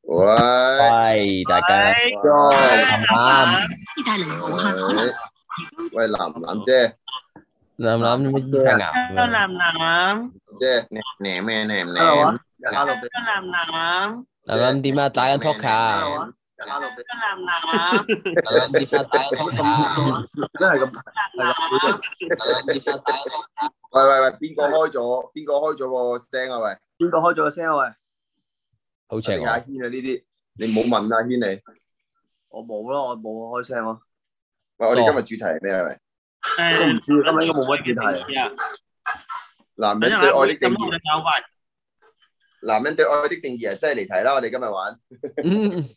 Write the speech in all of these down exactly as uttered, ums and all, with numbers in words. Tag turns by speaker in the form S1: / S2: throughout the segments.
S1: 喂，
S2: 喂，大家
S1: 啱。
S3: 意大利好客可能
S1: 喂，楠楠姐，
S2: 諗諗咩醫生啊？
S4: Hello 楠楠
S1: 姐，舐咩舐
S5: Hello 啊
S1: 舐？
S5: ，hello
S4: ，Hello 楠楠
S2: 諗諗點啊？打緊 poker 啊？
S5: hello 啊，hello
S4: ，Hello 楠楠
S2: 諗諗點啊？打緊 poker 啊？
S5: 真係咁
S4: 楠楠，
S2: 諗諗點啊？打緊 poker
S1: 喂喂喂，邊個開咗？邊個開咗個聲啊？喂，
S5: 邊個開咗個聲啊？喂，
S2: 好似係我。
S1: 一定係阿軒啊！呢啲你唔好問阿軒你。
S5: 我冇咯，我冇開聲咯。
S1: 喂，我哋今日主題係咩啊？喂，
S5: 都唔知，今日應該冇乜主題。
S1: 男
S4: 等陣啦，
S1: 人對愛的定
S4: 咁我
S1: 義，
S4: 哋搞快。
S1: 男人對愛的定義係真係離題啦！我哋今日玩。
S2: 嗯，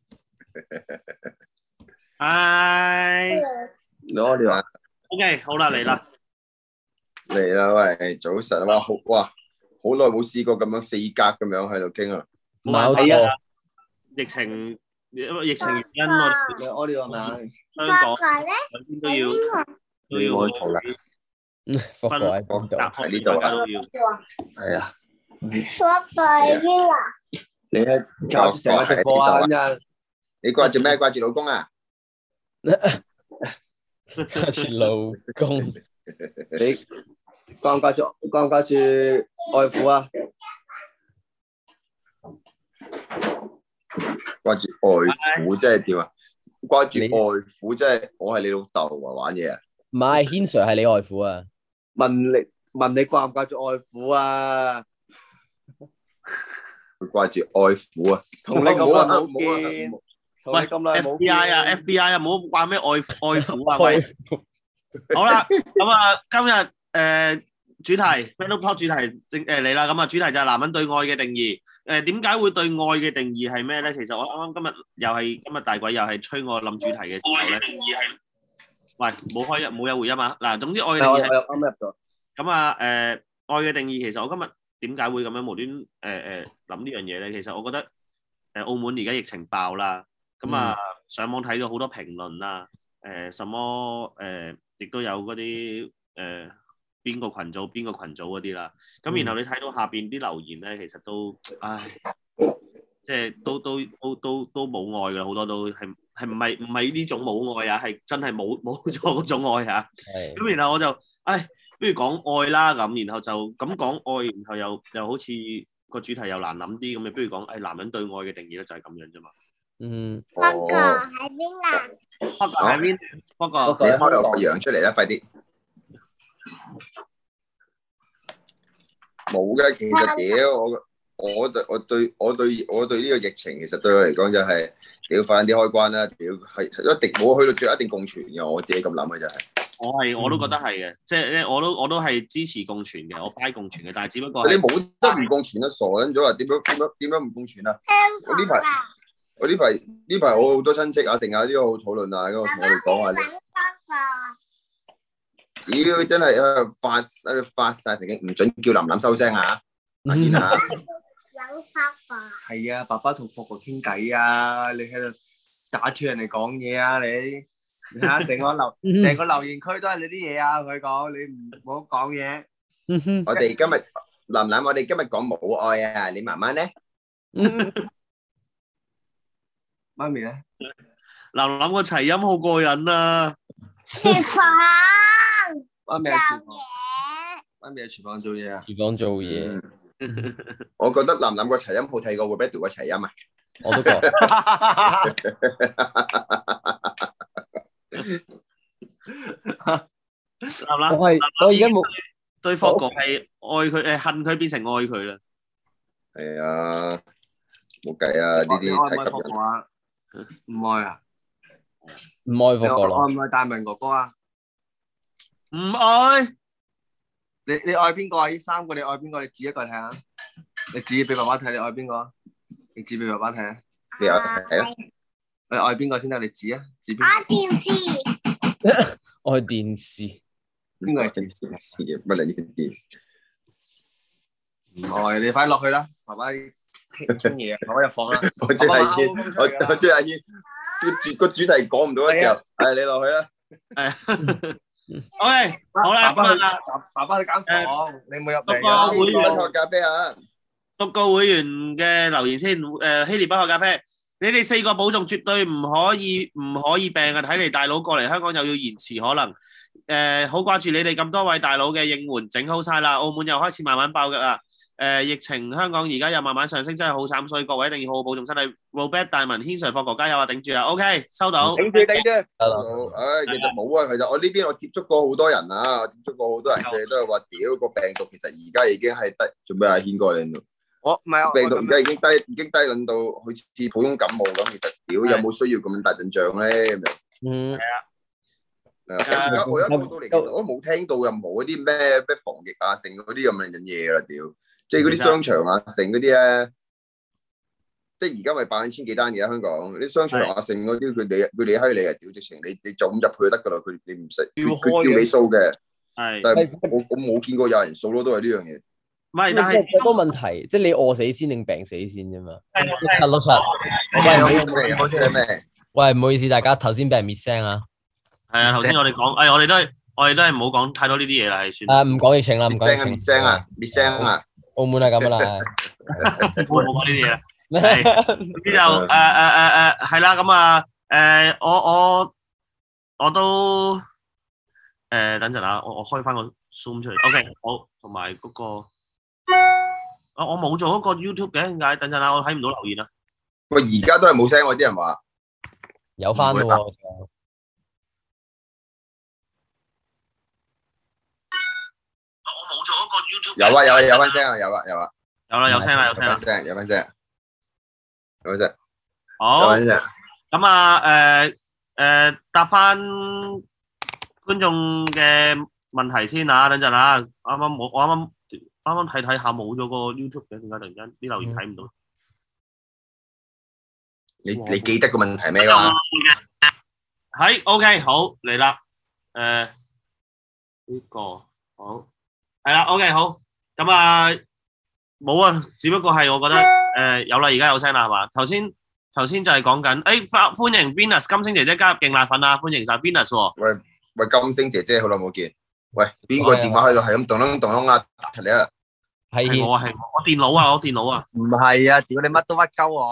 S4: 唉
S5: 攞你話
S4: ，OK，好啦，嚟啦。
S1: 嚟啦！喂，早晨哇，好哇，好耐冇試過咁樣四格咁樣喺度傾啦。
S2: 唔係好
S4: 係啊
S2: 多。
S4: 疫情，因為疫情原因，我哋
S5: 你屙呢個名，
S4: 香港兩邊都要都要
S1: 冇錯啦，
S2: 福哥喺邊度？
S1: 喺呢度啊
S4: 大家都要。
S5: 係啊，
S3: 爸爸邊啊？
S5: 你喺搞住成個直播啊！咁樣
S1: 你掛住咩？掛住老公啊？
S2: 掛住老公。
S5: 你掛唔掛住掛唔掛住外父啊？
S1: 掛住外父即係點啊？掛住外父即係我係你老豆啊！玩嘢啊！
S2: 唔係，軒 Sir 係你外父啊？
S5: 問你問你掛唔掛住外父啊？
S1: 掛住愛父啊！
S5: 同你咁耐冇
S1: 唔好啊唔
S5: 見，同你
S4: 喂
S5: 咁耐冇
S4: ，F B I 啊
S5: 見
S4: ，F B I 啊，唔好話咩愛愛父啊，喂。好啦，咁啊，今日誒主題 Battle Talk 主題正誒嚟啦，咁啊主題就係男人對愛嘅定義。誒點解會對愛嘅定義係咩咧？其實我啱啱今日又係今日大鬼又係催我諗主題嘅時候咧，定義係喂冇開冇有回音啊！嗱，總之愛嘅定
S5: 我
S4: 義係
S5: 啱入咗。
S4: 咁啊誒愛嘅定義，其實我今日點解會咁樣無端誒誒諗呢樣嘢咧？其實我覺得誒澳門而家疫情爆啦，咁啊上網睇到好多評論啦，誒什麼誒。亦都有嗰啲誒邊個群組邊個群組嗰啲啦，咁然後你睇到下邊啲留言咧，其實都唉，即係都都都都都冇愛㗎啦，好多都係係唔係唔係呢種冇愛啊，係真係冇冇咗嗰種愛啊。咁然後我就唉，不如講愛啦咁，然後就咁講愛，然後又又好似個主題又難諗啲咁，你不如講誒男人對愛嘅定義咧就係咁樣啫嘛。
S2: 嗯。
S3: 爸爸喺邊啊？
S4: 不過喺邊？不過
S1: 你開個樣出嚟啦，快啲！冇嘅，其實屌我我對我對我對我對呢個疫情，其實對我嚟講就係屌快啲開關啦！屌係一定冇去到最後一定共存嘅，我自己咁諗嘅就係。
S4: 我係我都覺得係嘅，即係咧我都我都係支持共存嘅，我 buy 共存嘅，但係只不過
S1: 你冇得唔共存啊？傻撚咗啊！點樣點樣點樣唔共存啊？我呢排我呢排呢排我好多親戚啊，成日呢個討論啊，咁我同我哋講下咧。屌真係喺度發喺度發曬神經，唔準叫林林收聲啊！阿軒啊，
S3: 等爸爸。
S5: 係啊，爸爸同霍哥傾偈啊，你喺度打斷人哋講嘢啊，你你睇下成個留成個留言區都係你啲嘢啊，同佢講，你唔好講嘢。
S1: 我哋今日林林，我哋今日講母愛啊，你媽媽咧？
S5: 媽咪咧？
S4: 林林個齊音好過癮啊！
S3: 食飯。
S5: 媽咪喺廚房，媽咪喺廚房做嘢啊！
S2: 廚房做嘢，
S1: 我覺得林林個齊音好睇過 Roberto 個齊音啊！
S2: 我都覺。
S4: 林林，
S2: 我係我而家冇
S4: 對霍哥係愛佢誒恨佢變成愛佢啦。
S1: 係啊，冇計啊！呢啲太吸引。
S5: 啊？唔愛啊？
S2: 唔愛霍哥
S5: 愛
S2: 咯。
S5: 唔愛大文哥哥啊？
S4: 唔愛，
S5: 你你愛邊個啊？呢三個你愛邊個？你指一個嚟睇下。你指俾爸爸睇，你愛邊個？你指俾爸爸睇啊！
S1: 你有係啊？
S5: 你愛邊個先得？你指啊！指邊？
S3: 愛電視。
S2: 愛電視。
S5: 邊個係
S1: 電視乜嚟？呢啲電視
S5: 唔愛，你快落去啦！爸爸傾嘢啊！爸爸入房啦！
S1: 我追阿軒，我我追阿軒。個主個主題講唔到嘅時候，誒你落去啦。
S4: 係。OK，好啦，
S5: 爸爸去
S4: 咁啊，
S5: 爸爸去間房，你冇入
S4: 不過
S5: 嚟啊！
S4: 會
S1: 想喝咖啡啊？
S4: 讀個會員嘅留言先。誒，希臘不喝咖啡，你哋四個保重，絕對唔可以唔可以病啊！睇嚟大佬過嚟香港又要延遲，可能誒好掛住你哋咁多位大佬嘅應援，整好晒啦。澳門又開始慢慢爆嘅啦。誒，疫情香港而家又慢慢上升，真係好慘，所以各位一定要好好保重身體。Robert 大文、軒 Sir、霍哥加油啊！頂住啊 ！OK，收到。
S5: 頂住頂住。
S1: 好，唉，其實冇啊，其實我呢邊我接觸過好多人啊，我接觸過好多人，佢哋都係話屌個病毒其實而家已經係低，做咩啊？軒哥你度？
S5: 我唔係
S1: 病毒而家已經低，已經低撚到好似普通感冒咁。其實屌有冇需要咁大陣仗咧？
S2: 嗯，
S1: 係啊，而家我一過到嚟，其實我都冇聽到任何嗰啲咩咩防疫啊、剩嗰啲咁樣嘅嘢啦，屌！即係嗰啲商場啊、剩嗰啲咧，即係而家咪百千幾單嘅香港啲商場啊、剩嗰啲，佢哋佢哋閪你啊，屌！直情你你就咁入去就得噶啦，佢你唔使佢佢叫你掃嘅，
S4: 係，
S1: 但係我我冇見過有人掃咯，都係呢樣嘢。
S4: 唔係，但
S2: 但係
S4: 係
S2: 個問題，即係你餓死先定病死先啫嘛。六七六七，
S1: 喂，唔好唔好聲咩？
S2: 喂，唔好意思，大家頭先俾人滅聲啊。
S4: 係啊，頭先我哋講，誒，我哋都係我哋都係唔好講太多呢啲嘢啦，係算。
S2: 啊，唔講疫情啦，唔講
S1: 滅
S2: 疫情。
S1: 聲啊！滅聲啊！
S2: 澳門係咁噶啦。
S4: 冇冇講呢啲嘢啦。係，咁就誒誒誒誒係啦，咁啊誒我我我都誒等陣啊，我我開翻個 Zoom 出嚟。OK，好，同埋嗰個啊我冇做嗰個 YouTube 嘅，點解？等陣啊，我睇唔到留言啊。
S1: 喂，而家都係冇聲喎，啲人話
S2: 有翻咯喎。
S4: 我冇做嗰個 YouTube。
S1: 有啊有啊有翻聲啊有啊有啊。
S4: 有啦，有聲啦，有
S1: 有
S4: 聲啦
S1: 翻。聲有翻聲有翻聲有
S4: 好。
S1: 翻聲。
S4: 咁啊，誒誒，答翻觀眾嘅問題先啊，等陣啊，啱啱我我啱啱啱啱睇睇下冇咗個 YouTube 嘅，點解突然間啲留言睇唔到？
S1: 你你記得個問題咩㗎？
S4: 係 OK，好嚟啦，誒呢個好係啦 OK 好，咁啊冇啊，只不過係我覺得誒有啦，而家有聲啦係嘛？頭先。頭先就係講緊，誒歡迎 Venus 金星姐姐加入勁辣粉啊！歡迎晒 Venus 喎。
S1: 喂喂，金星姐姐好耐冇見。喂，邊個電話喺度係咁咚咚咚咚啊？打出嚟啊！
S2: 係
S4: 我啊係我電腦啊，我電腦啊。
S5: 唔係啊，屌你乜都屈鳩我。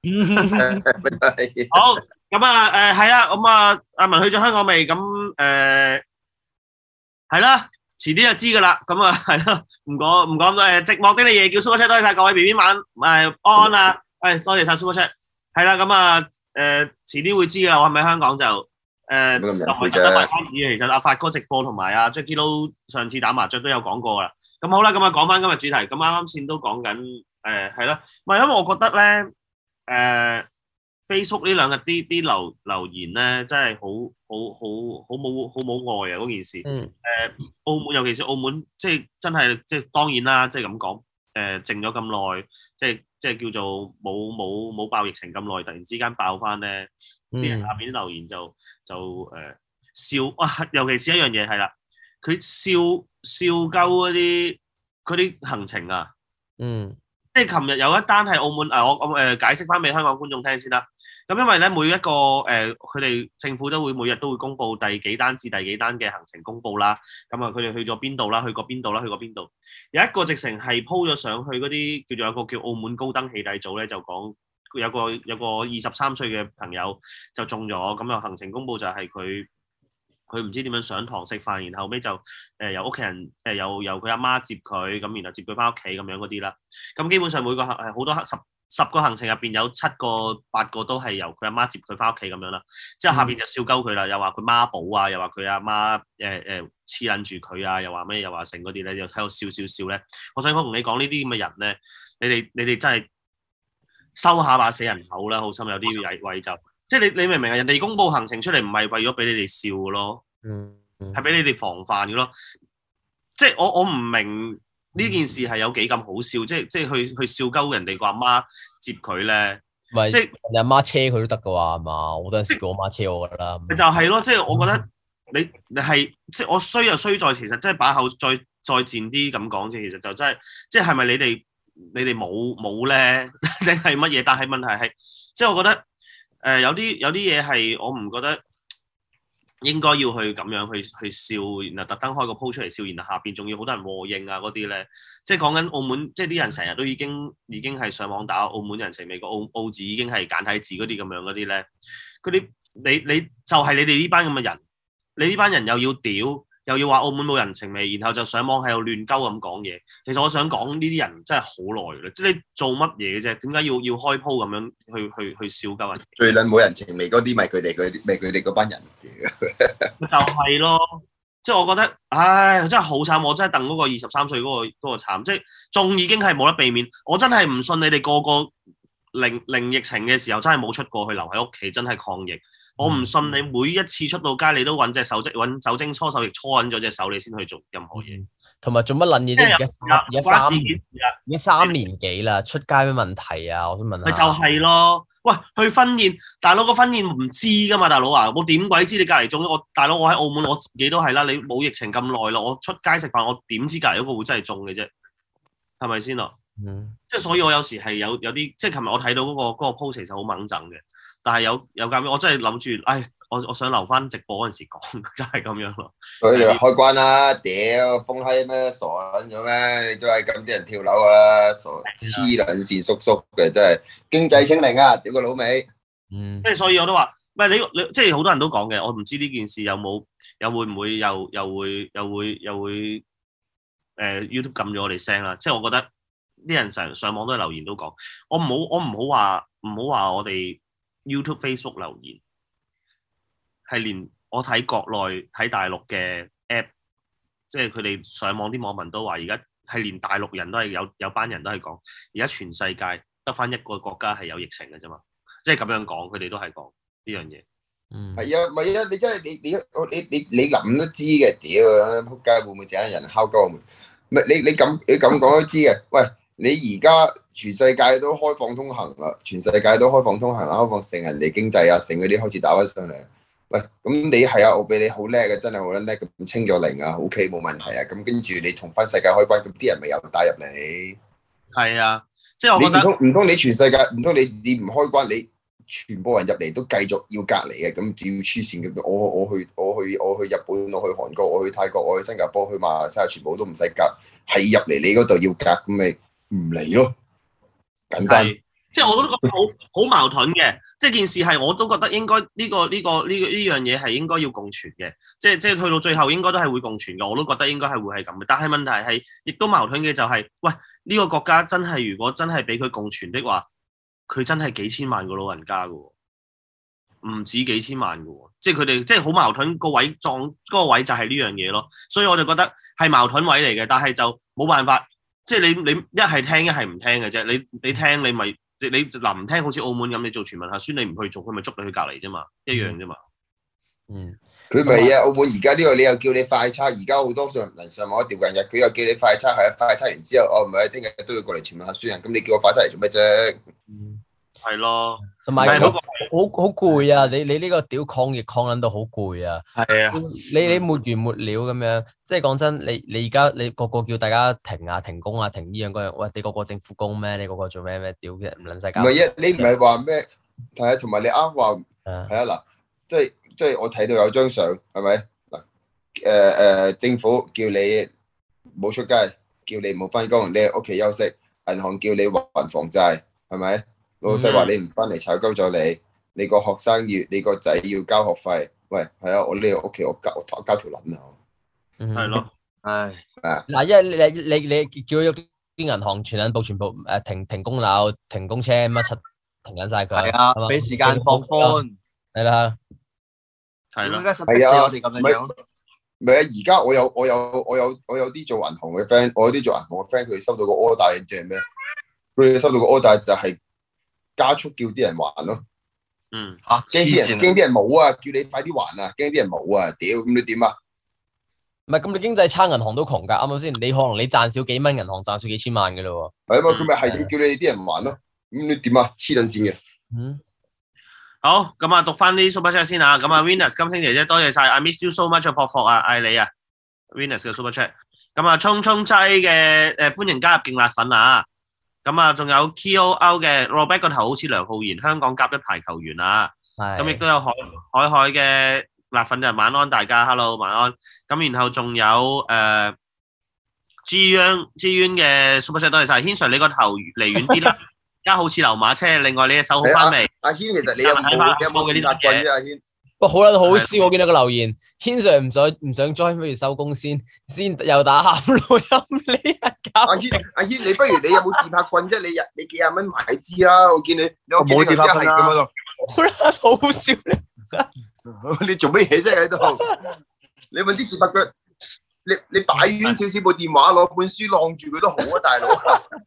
S4: 好，咁啊誒係啦，咁啊阿文去咗香港未？咁誒係啦，遲啲就知噶啦。咁啊係咯，唔講唔講誒，寂寞的你夜叫 Super Chat，多謝晒各位 B B 晚誒安安啊，誒多謝晒 Super Chat。係啦，咁啊，誒遲啲會知噶啦，我係咪香港就誒就唔係得埋關子嘅。其實阿發哥直播同埋阿 Jackie Lou 上次打麻雀都有講過啦。咁好啦，咁啊講翻今日主題。咁啱啱先都講緊誒係啦，唔係因為我覺得咧誒 Facebook 呢兩日啲啲留留言咧真係好好好好冇好冇愛啊嗰件事。
S2: 嗯。
S4: 誒澳門尤其是澳門，即係真係即係當然啦，即係咁講誒靜咗咁耐，即係。即係叫做冇冇冇爆疫情咁耐，突然之間爆翻咧，啲人下邊啲留言就就誒、呃、笑啊！尤其是一樣嘢係啦，佢笑笑鳩嗰啲嗰啲行程啊，
S2: 嗯，
S4: 即係琴日有一單係澳門啊，我我誒、呃、解釋翻俾香港觀眾聽先啦。咁因為咧每一個誒佢哋政府都會每日都會公布第幾單至第幾單嘅行程公佈啦。咁啊佢哋去咗邊度啦？去過邊度啦？去過邊度？有一個直情係 po 咗上去嗰啲叫做有個叫澳門高登起底組咧，就講有個有個二十三歲嘅朋友就中咗，咁啊行程公佈就係佢佢唔知點樣上堂食飯，然後尾就誒、呃、由屋企人誒、呃、由由佢阿媽接佢，咁然後接佢翻屋企咁樣嗰啲啦。咁基本上每個係好多十。十個行程入邊有七個八個都係由佢阿媽接佢翻屋企咁樣啦，之後下邊就笑鳩佢啦，又話佢媽寶啊，又話佢阿媽誒誒黐撚住佢啊，又話咩又話成嗰啲咧，又喺度笑笑笑咧。我想講同你講呢啲咁嘅人咧，你哋你哋真係收下把死人口啦，好心有啲位位就，即係你你明唔明啊？人哋公佈行程出嚟唔係為咗俾你哋笑嘅咯，
S2: 嗯，
S4: 係俾你哋防範嘅咯。即係我我唔明。呢件事係有幾咁好笑，即係即係去去笑鳩人哋個阿媽接佢咧，
S2: 咪
S4: 即係
S2: 你阿媽車佢都得噶喎，係嘛？我嗰陣時叫我媽車我噶啦。
S4: 就係咯，即係我覺得你你係即係我衰就衰在其實即係把口再再賤啲咁講啫，其實就真係即係係咪你哋你哋冇冇咧定係乜嘢？但係問題係即係我覺得誒、呃、有啲有啲嘢係我唔覺得應該要去咁樣去去笑，然後特登開個 po 出嚟笑，然後下邊仲要好多人和應啊嗰啲咧，即係講緊澳門，即係啲人成日都已經已經係上網打澳門人情味，個澳澳字已經係簡體字嗰啲咁樣嗰啲咧，嗰啲你你就係你哋呢班咁嘅人，你呢班人又要屌。又要話澳門冇人情味，然後就上網喺度亂鳩咁講嘢。其實我想講呢啲人真係好耐啦，即係你做乜嘢嘅啫？點解要要開鋪咁樣去去去笑鳩人？
S1: 最撚冇人情味嗰啲，咪佢哋嗰啲，咪佢哋嗰班人
S4: 就係咯，即係我覺得，唉，真係好慘！我真係戥嗰個二十三歲嗰個嗰個慘，即係仲已經係冇得避免。我真係唔信你哋個個零零疫情嘅時候真係冇出過去，留喺屋企真係抗疫。我唔信你每一次出到街，你都揾隻手即揾酒精搓手液搓緊咗隻手，你先去做任何嘢。
S2: 同埋做乜撚嘢啫？而家而家三年，而家三年幾啦，出街咩問題啊？我想問下。
S4: 咪就係咯，喂，去婚宴，大佬個婚宴唔知噶嘛，大佬啊，我點鬼知你隔離中咗？我大佬我喺澳門，我自己都係啦。你冇疫情咁耐咯，我出街食飯，我點知隔離嗰個會真係中嘅啫？係咪先咯？嗯。即係所以，我有時係有有啲，即係琴日我睇到嗰個嗰個 post 其實好猛憎嘅。但係有有間，我真係諗住，唉，我我想留翻直播嗰陣時講，就係咁樣咯。
S1: 佢哋開關啦，屌封閪咩傻撚咗咩？你都係咁啲人跳樓噶啦，傻黐撚線叔叔嘅真係經濟清零啊！屌個老味。嗯。即係所以我都話，唔係你你即係好多人都講嘅，我唔知呢件事有冇又會唔會又又會又會又會誒、呃、YouTube 撳咗我哋聲啦。即係我覺得啲人成日上網都係留言都講，我唔好我唔好話唔好話我哋。YouTube、Facebook 留言係連我睇國內睇大陸嘅 app， 即係佢哋上網啲網民都話，而家係連大陸人都係有有班人都係講，而家全世界得翻一個國家係有疫情嘅啫嘛，即係咁樣講，佢哋都係講呢樣嘢。嗯，係啊，唔係啊，你真係你你你你你諗都知嘅，屌，仆街會唔會整人敲鳩我們？唔係你你咁你咁講都知嘅，喂。你而家全世界都開放通行啦，全世界都開放通行啦，開放成人哋經濟啊，成嗰啲開始打翻上嚟。喂，咁你係啊，我俾你好叻嘅，真係好叻叻咁清咗零啊 ，OK 冇問題啊。咁跟住你同翻世界開關，咁啲人咪又打入嚟。係啊，即係我覺得唔通唔通你全世界唔通你你唔開關，你全部人入嚟都繼續要隔離嘅，咁要黐線嘅。我我去我去我去日本，我去韓國，我去泰國，我去新加坡，去馬來西亞，全部都唔使隔，係入嚟你嗰度要隔，咁咪。唔嚟咯，簡單。即係我都覺得好好矛盾嘅，即係件事係我都覺得應該呢、呢個呢、呢個呢呢樣嘢係應該要共存嘅，即係即係去到最後應該都係會共存嘅，我都覺得應該係會係咁嘅。但係問題係，亦都矛盾嘅就係、是，喂呢、呢個國家真係如果真係俾佢共存的話，佢真係幾千萬個老人家㗎喎，唔止幾千萬㗎喎，即係佢哋即係好矛盾個位撞嗰、嗰個位就係呢樣嘢咯。所以我就覺得係矛盾位嚟嘅，但係就冇辦法。即係你你一係聽一係唔聽嘅啫，你你聽你咪你你嗱唔聽，好似澳門咁，你做全民核酸你唔去做，佢咪捉你去隔離啫嘛，一樣啫嘛。嗯，佢咪啊，澳門而家呢個你又叫你快測，而家好多上人上網一調近日，佢又叫你快測，係啊，快測完之後，哦唔係，聽日都要過嚟全民核酸啊，咁你叫我快測嚟做咩啫？嗯，係咯，同埋好好好攰啊！你你呢個屌抗疫抗撚到好攰啊！係啊，你你沒完沒了咁樣，即係講真，你你而家你個個叫大家停啊停工啊停呢樣嗰樣，喂你個個政府工咩？你個個做咩咩屌嘅唔撚使搞？唔係一你唔係話咩？係啊，同埋你啱話係啊嗱，即係即係我睇到有張相係咪嗱？誒誒，政府叫你冇出街，叫你冇翻工，你喺屋企休息，銀行叫你還房債，係咪？老細話你唔翻嚟炒鳩咗你，你個學生要你個仔要交學費，喂係啊，我呢個屋企我交我交條撚啊，係咯，唉啊嗱，因為你你你叫咗啲銀行全銀部全部誒停停供樓、停供車乜柒停緊晒佢，係啊，俾時間放寬，係啦，係咯，係啊，我哋咁樣樣，唔係啊，而家我有我有我有我有啲做銀行嘅 friend， 我有啲做銀行嘅 friend， 佢收到個 order 即係咩？佢哋收到個 order 就係。加速叫啲人還咯，嗯嚇，驚啲人驚啲人冇啊，叫你快啲還啊，驚啲人冇啊，屌咁你點啊？唔係咁你經濟差，銀行都窮㗎，啱唔啱先？你可能你賺少幾蚊，銀行賺少幾千萬㗎咯喎。係啊嘛，佢咪係點叫你啲人還咯？咁你點啊？黐撚線嘅。嗯。好，咁啊讀翻啲 super chat 先啊，咁啊 Venus 金星姐姐多謝晒 I miss you so much 霍霍啊，愛你啊 Venus 嘅 super chat。咁啊聰聰劑嘅誒歡迎加入勁辣粉啊！咁啊，仲有 K O L 嘅 Robert 個頭好似梁浩然，香港甲一排球員啊。咁亦都有海海海嘅
S4: 辣粉就晚安大家 ，hello 晚安。咁然後仲有誒 G Yuan G Yuan 嘅 super chat 多謝晒，軒 Sir 你個頭離遠啲啦，而家好似流馬車。另外你嘅手好翻未？
S1: 阿軒其實你有冇你有冇自拍棍啫？阿軒，
S2: 不過好啦，好笑，我見到個留言，軒 Sir 唔想唔想 join，不如收工先，先又打喊錄音呢一搞。
S1: 阿軒阿軒，你不如你有冇自拍棍啫？你日你幾廿蚊買支啦，我見你我見你個係咁樣咯。
S2: 好啦，好笑
S1: 你做乜嘢啫喺度？你揾支自拍棍，你你擺遠少少部電話，攞本書晾住佢都好啊，大佬。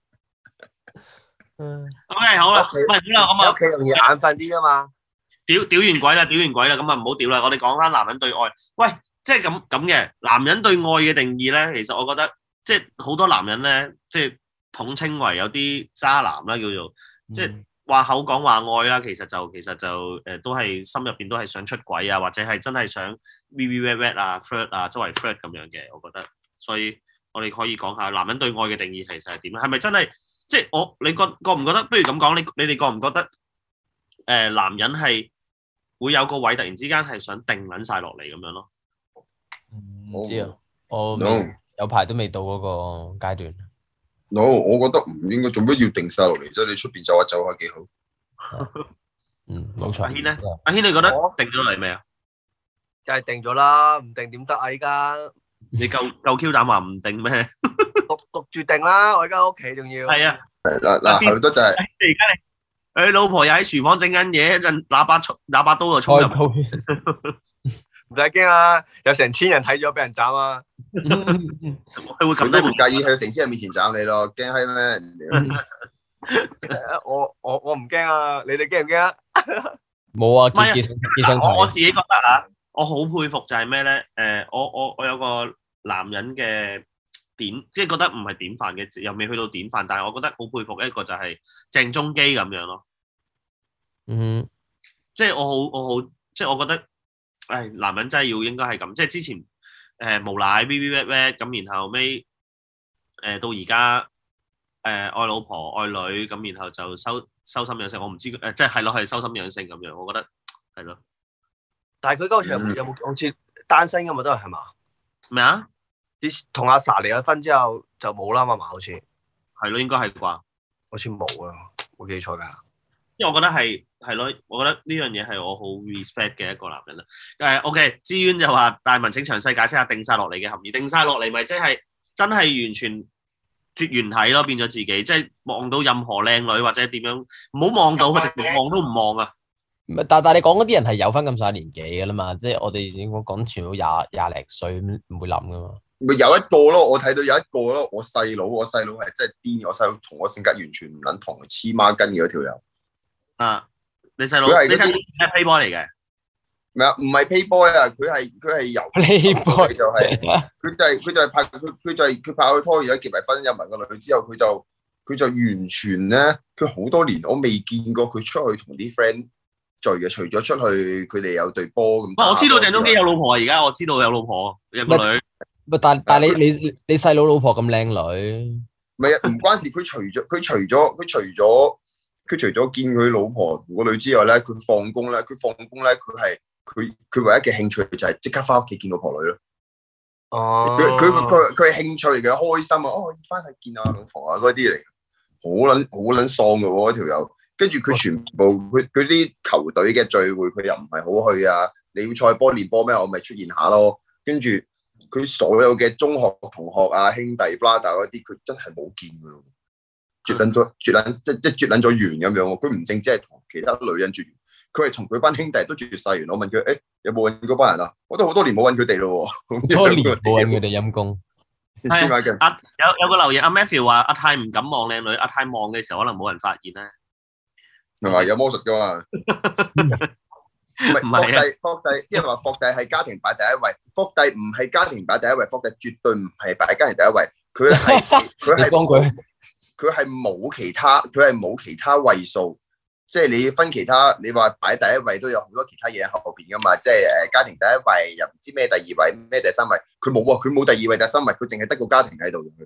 S2: 嗯
S4: OK 好啦，喂好啦，咁啊
S5: 屋企容易眼瞓啲啊嘛。
S4: 屌屌完鬼啦，屌完鬼啦，咁啊唔好屌啦，我哋講翻男人對愛。喂，即係咁咁嘅男人對愛嘅定義咧，其實我覺得即係好多男人咧，即係統稱為有啲渣男啦，叫做即係話口講話愛啦，其實就其實就誒、呃、都係心入邊都係想出軌啊，或者係真係想 V V wet wet 啊 flirt 啊，周圍 flirt 咁樣嘅，我覺得。所以我哋可以講下男人對愛嘅定義其實係點咧？係咪真係即係我你覺覺唔覺得？不如咁講，你你哋覺唔覺得誒、呃、男人係會有個位突然之間係想定撚晒落嚟咁樣咯？
S2: 唔知啊，我
S1: no
S2: 有排都未到嗰個階段。
S1: no， 我覺得唔應該，做咩要定晒落嚟啫？你出邊走下走下幾好。
S2: 嗯，冇錯。
S4: 阿軒咧，阿軒你覺得定咗嚟未啊？
S5: 梗係定咗啦，唔定點得啊？依家
S4: 你夠夠 Q 膽話唔定咩？
S5: 焗焗住定啦，我而家屋企仲要。
S4: 係啊，
S1: 嗱嗱，好多就係
S4: 而家你佢老婆又喺廚房整緊嘢，一陣喇叭衝喇叭刀就衝入嚟。
S5: 唔使驚啊，有成千人睇咗俾人斬啊！
S4: 佢會咁
S1: 佢都唔介意喺成千人面前斬你咯，驚閪咩？
S5: 我我我唔驚啊，你哋驚唔驚啊？
S2: 冇啊，
S4: 唔係啊
S2: 結結生
S4: 我我自己覺得啊，我好佩服就係咩咧？誒，我我我有個男人嘅典，即係覺得唔係典範嘅，又未去到典範，但係我覺得好佩服一個就係鄭中基咁樣咯。
S2: 嗯，
S4: 即係我好我好，即係我覺得，誒，男人真係要應該係咁，即係之前誒、呃、無賴 V V wet wet 咁，然後尾誒、呃、到而家誒愛老婆愛女咁，然後就收收心養性，我唔知誒、呃，即係係咯係收心養性咁樣，我覺得係咯。
S5: 但係佢嗰時有冇有冇好似單身㗎嘛？都係係嘛？
S4: 咩啊？
S5: 啲同阿 sa 離咗婚之後就冇啦嘛嘛，好似
S4: 係咯，應該係啩？
S5: 好似冇啊，冇記錯㗎。
S4: 因為我覺得係係咯，我覺得呢樣嘢係我好 respect 嘅一個男人啦。誒 ，OK，資源就話大文請詳細解釋下定晒落嚟嘅含義。定晒落嚟咪即係真係完全絕緣體咯，變咗自己，即係望到任何靚女或者點樣，唔好望到佢，直接望都唔望啊！
S2: 唔係，但但你講嗰啲人係有翻咁上下年紀嘅啦嘛，即係我哋應該講全部廿廿零歲唔會諗噶嘛。
S1: 咪有一個咯，我睇到有一個咯，我細佬，我細佬係真係癲，我細佬同我性格完全唔撚同，黐孖筋嘅嗰條友。
S4: 啊！你細佬，
S1: 佢係
S4: 你細佬係 playboy 嚟嘅，
S1: 咩啊？唔係 Playboy 啊，佢係佢係由
S2: Playboy
S1: 就係佢就係佢就係拍佢佢就係佢拍佢拖，而家結埋婚有埋個女之後，佢就佢就完全咧，佢好多年我未見過佢出去同啲 friend 聚嘅，除咗出去佢哋有隊波咁。
S4: 我知道鄭中基有老婆啊，而家我知道有老婆有個女。
S2: 唔但但你你你細佬老婆咁靚女，
S1: 唔係啊，唔關事。佢除咗佢除咗佢除咗佢除咗見佢老婆個女之外咧，佢放工咧，佢放工咧，佢係佢佢唯一嘅興趣就係即刻翻屋企見老婆女咯。
S5: 哦，
S1: 佢佢佢佢係興趣嚟嘅，開心啊！哦，翻去見下老婆啊，嗰啲嚟，好撚好撚喪嘅喎，嗰條友。跟住佢全部佢佢啲球隊嘅聚會，佢又唔係好去啊。你要賽波練波咩？我咪出現下咯。跟住佢所有嘅中學同學啊、兄弟、brother 嗰啲，佢真係冇見嘅，絕撚咗，絕撚即即絕撚咗緣咁樣。佢唔淨止係同其他女人絕緣，佢係同佢班兄弟都絕晒緣。我問佢：誒、欸、有冇揾嗰班人啊？我都好多年冇揾佢哋咯。
S2: 多年冇揾佢哋陰公。
S4: 係阿有有個留言，阿 Matthew 話阿泰唔敢望靚女，阿泰望嘅時候可能冇人發現咧。
S1: 係咪有魔術噶嘛？唔係霍帝，霍帝，因為話霍帝係家庭擺第一位，霍帝唔係家庭擺第一位，霍帝絕對唔係擺家庭第一位，佢係佢係佢佢係冇其他，佢係冇其他位數，即係你分其他，你話擺第一位都有好多其他嘢喺後邊噶嘛，即係誒家庭第一位又唔知咩第二位咩第三位，佢冇啊，佢冇第二位第三位，佢淨係得個家庭喺度嘅。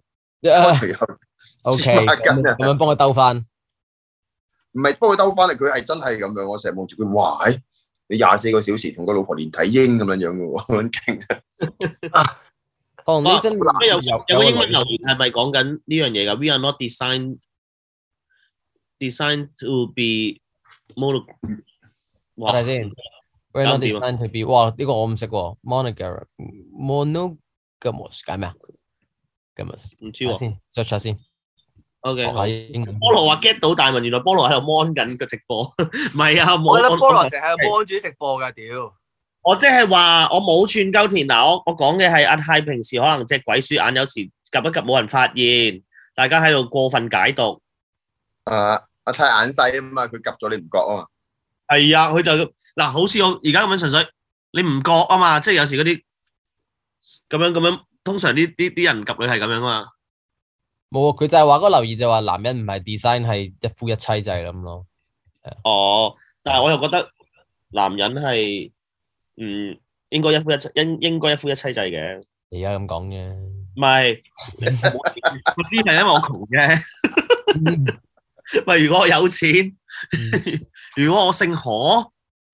S2: O K，咁樣幫佢兜翻。
S1: 唔係幫佢兜翻嚟，佢係真係咁樣。我成日望住佢，哇！ 你廿四個小時同個老婆連體嬰咁樣樣嘅喎，好勁啊！
S2: 哦，呢真
S4: 有有個英文留言係咪講緊呢樣嘢㗎 ？We are not designed designed to be mono。
S2: 我睇先 ，We're not designed to be。哇，呢個我唔識喎 ，monogamous monogamous 解咩啊 ？gamous
S4: 唔知喎，
S2: 先 search 下先。
S4: O K，
S2: 好。
S4: 菠蘿話 get 到，但係原來菠蘿喺度 mon 緊個直播，唔係啊，
S5: 我覺得菠蘿成日喺度 mon 住直播㗎，屌！
S4: 我即係話我冇串鳩田嗱，我我講嘅係阿泰平時可能隻鬼鼠眼有時及一及冇人發現，大家喺度過分解讀。
S1: 啊，阿泰眼細啊嘛，佢及咗你唔覺啊嘛。
S4: 係啊，佢就嗱，好似我而家咁樣純粹，你唔覺啊嘛，即係有時嗰啲咁樣咁樣，通常啲啲啲人及你係咁樣啊嘛。
S2: 冇啊，佢就係話嗰個留言就話男人唔係 design 係一夫一妻制咁咯。
S4: 哦，但係我又覺得男人係。嗯，應該一夫一妻，應應該一夫一妻制嘅。
S2: 而家咁講啫。
S4: 唔係，我知係因為我窮啫。咪如果我有錢，如果我姓何，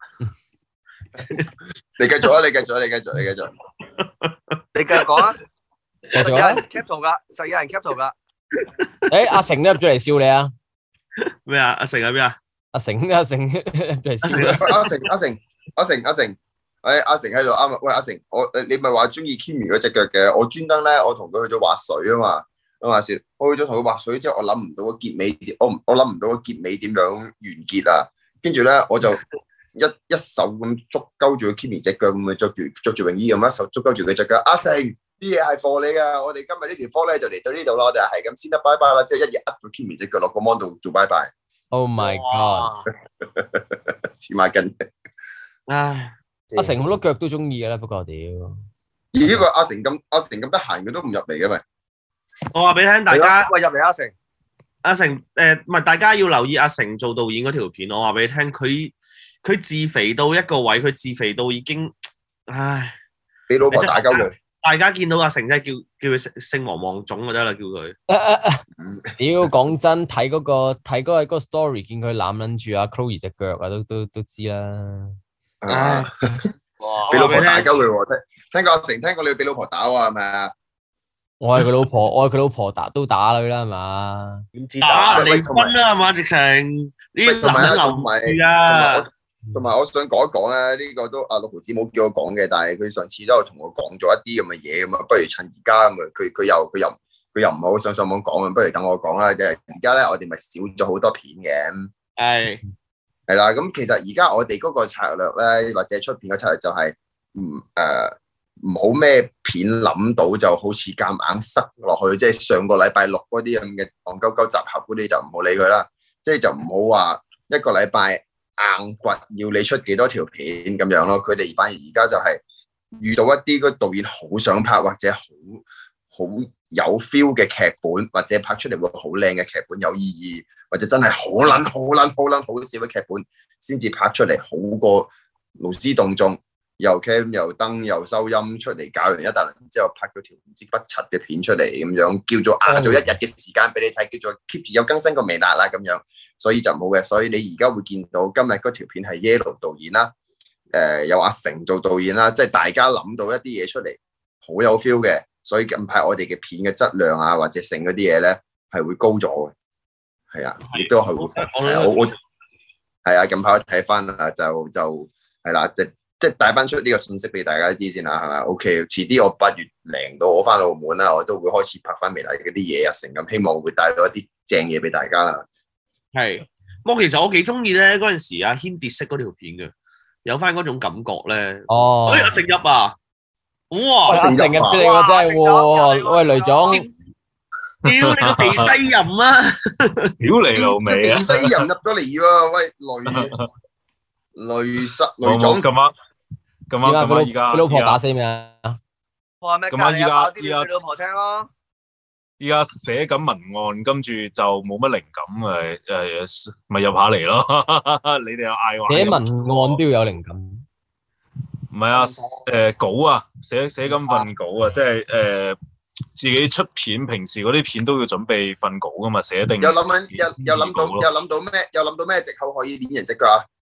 S1: 你繼續啊！你繼續，你繼續，你繼續。
S5: 你繼續講啊！
S2: 繼續啊！
S5: 有人 cap 圖㗎，實有人 cap 圖㗎。
S2: 誒，阿成都入咗嚟笑你啊！
S4: 咩啊？阿成喺邊啊？
S2: 阿成，阿成入咗嚟笑你。
S1: 阿成，阿成，阿成，阿成。誒，阿成喺度啱啊！喂，阿成，我誒你咪話中意 Kimi 嗰隻腳嘅，我專登咧，我同佢去咗滑水啊嘛。咁話說，我去咗同佢滑水之後，我諗唔到個結尾點，我我諗唔到個結尾點樣完結啊！跟住咧，我就一一手咁捉鳩住個 Kimi 隻腳，咁樣着住着住泳衣咁一手捉鳩住佢隻腳。阿成，啲嘢係貨你噶，我哋今日呢條科咧就嚟到呢度啦，我哋係咁先得，拜拜啦！即係一嘢呃咗 Kimi 隻腳落個 mon 度做拜拜。
S2: Oh my god！
S1: 黐孖筋。
S4: 唉。
S2: 阿成好多腳都中意嘅啦，不過屌，
S1: 咦？個阿成咁阿成咁得閒，佢都唔入嚟嘅咪？
S4: 我話俾你聽，大家
S5: 喂入嚟阿成，
S4: 阿成誒，唔係大家要留意阿成做導演嗰條片。我話俾你聽，佢佢自肥到一個位，佢自肥到已經，唉，
S1: 俾老婆打鳩佢。
S4: 大家見到阿成真係叫叫佢姓姓黃黃種就得啦，叫佢。
S2: 屌，講真，睇嗰個睇嗰個嗰個 story，見佢攬撚住阿 Chloe 隻腳啊，都都都知啦。
S1: 啊！俾老婆打鳩佢喎，聽聽過阿成，聽過你俾老婆打喎，係咪啊？
S2: 我係佢老婆，我係佢老婆打都打佢啦，係嘛？
S4: 點知打離婚啦，係嘛？直情呢男人留住啊！
S1: 同埋我想講一講咧，呢個都阿六毫子冇叫我講嘅，但係佢上次都有同我講咗一啲咁嘅嘢咁啊，不如趁而家咁啊，佢佢又佢又佢又唔係好想上網講啊，不如等我講啦。即係而家咧，我哋咪少咗好多片嘅。
S4: 係。
S1: 係啦，咁其實而家我哋嗰個策略咧，或者出片嘅策略就係唔誒唔好咩片諗到就好似夾硬塞落去，即係上個禮拜六嗰啲咁嘅戇鳩鳩集合嗰啲就唔好理佢啦，即係就唔好話一個禮拜硬掘要你出幾多條片咁樣咯。佢哋反而而家就係遇到一啲個導演好想拍或者好好有 feel 嘅劇本，或者拍出嚟會好靚嘅劇本，有意義。或者真係好撚好撚好撚好笑嘅劇本，先至拍出嚟好過勞師動眾，又 cam 又燈又收音出嚟搞完一大輪之後，拍咗條唔知不柒嘅片出嚟咁樣，叫做壓咗一日嘅時間俾你睇，叫做 keep 住有更新個微辣啦咁樣，所以就冇嘅。所以你而家會見到今日嗰條片係 Yellow 導演啦，誒、呃、有阿成做導演啦，即係大家諗到一啲嘢出嚟，好有 feel 嘅。所以近排我哋嘅片嘅質量啊，或者成嗰啲嘢咧係會高咗嘅。係啊，亦都係會，係啊，我我係啊，近排我睇翻啊，就就係啦，即即係帶翻出呢個信息俾大家知先啦，係咪 ？OK，遲啲我八月零到我翻澳門啦，我都會開始拍翻微辣嗰啲嘢啊，成咁，希望會帶到一啲正嘢俾大家啦。
S4: 係，我其實我幾中意咧嗰陣時阿軒跌色嗰條片嘅，有翻嗰種感覺咧。哦，哎，阿成入啊，哇，
S2: 阿成入嚟喎，真係喎，喂，雷總。
S4: 屌你個肥西人啊！
S6: 屌你老味啊！
S1: 肥西人入咗嚟喎，喂雷雷實雷總
S6: 咁啱咁啱咁啱，依家
S2: 佢老婆打死未啊？
S5: 話咩？
S6: 咁啊，依家
S5: 依家佢老婆聽咯。
S6: 依家寫緊文案，跟住就冇乜靈感誒誒，咪入下嚟咯。你哋又嗌話
S2: 寫文案都要有靈感。
S6: 唔係啊，誒稿啊，寫寫緊份稿啊，即係誒。自己出片，平時嗰啲片都要準備份稿噶嘛，寫定。
S1: 有諗緊，有有諗到，有諗到咩？有諗到咩藉口可以捏人隻腳啊？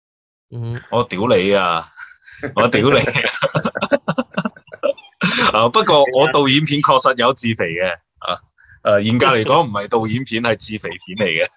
S2: 嗯，
S6: 我屌你啊！我屌你啊！啊，不過我導演片確實有自肥嘅啊。誒，嚴格嚟講唔係導演片，係自肥片嚟嘅。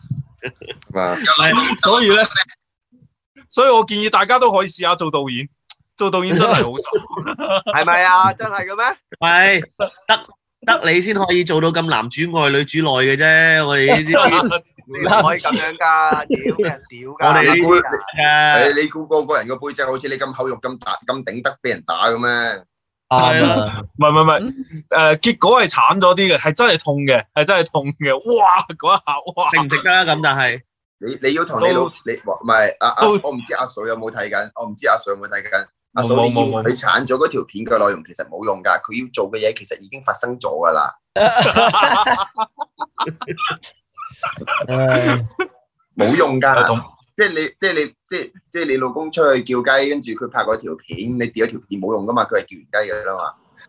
S6: 所以咧，所以我建議大家都可以試下做導演。做導演真係好爽，
S5: 係咪啊？真係嘅咩？
S4: 係得得你先可以做到咁男主外女主內嘅啫。我哋呢啲
S5: 你唔可以咁樣㗎，屌俾人屌㗎。
S4: 我哋
S1: 你估
S4: 誒
S1: 誒你估個個人個背脊好似你咁厚肉咁大咁頂得俾人打嘅咩？
S2: 啱啊，
S6: 唔係唔係唔係，誒結果係慘咗啲嘅，係真係痛嘅，係真係痛嘅。哇！嗰一下哇，
S4: 值唔值得啊？咁但係
S1: 你你要同你老你唔係阿阿，我唔知阿嫂有冇睇緊，我唔知阿嫂有冇睇緊。阿嫂你要佢鏟咗嗰條片嘅內容其實冇用㗎，佢要做嘅嘢其實已經發生咗㗎啦。冇用㗎，即係你即係你即係即係你老公出去叫雞，跟住佢拍嗰條片，你掉咗條片冇用㗎嘛，佢係叫完雞㗎啦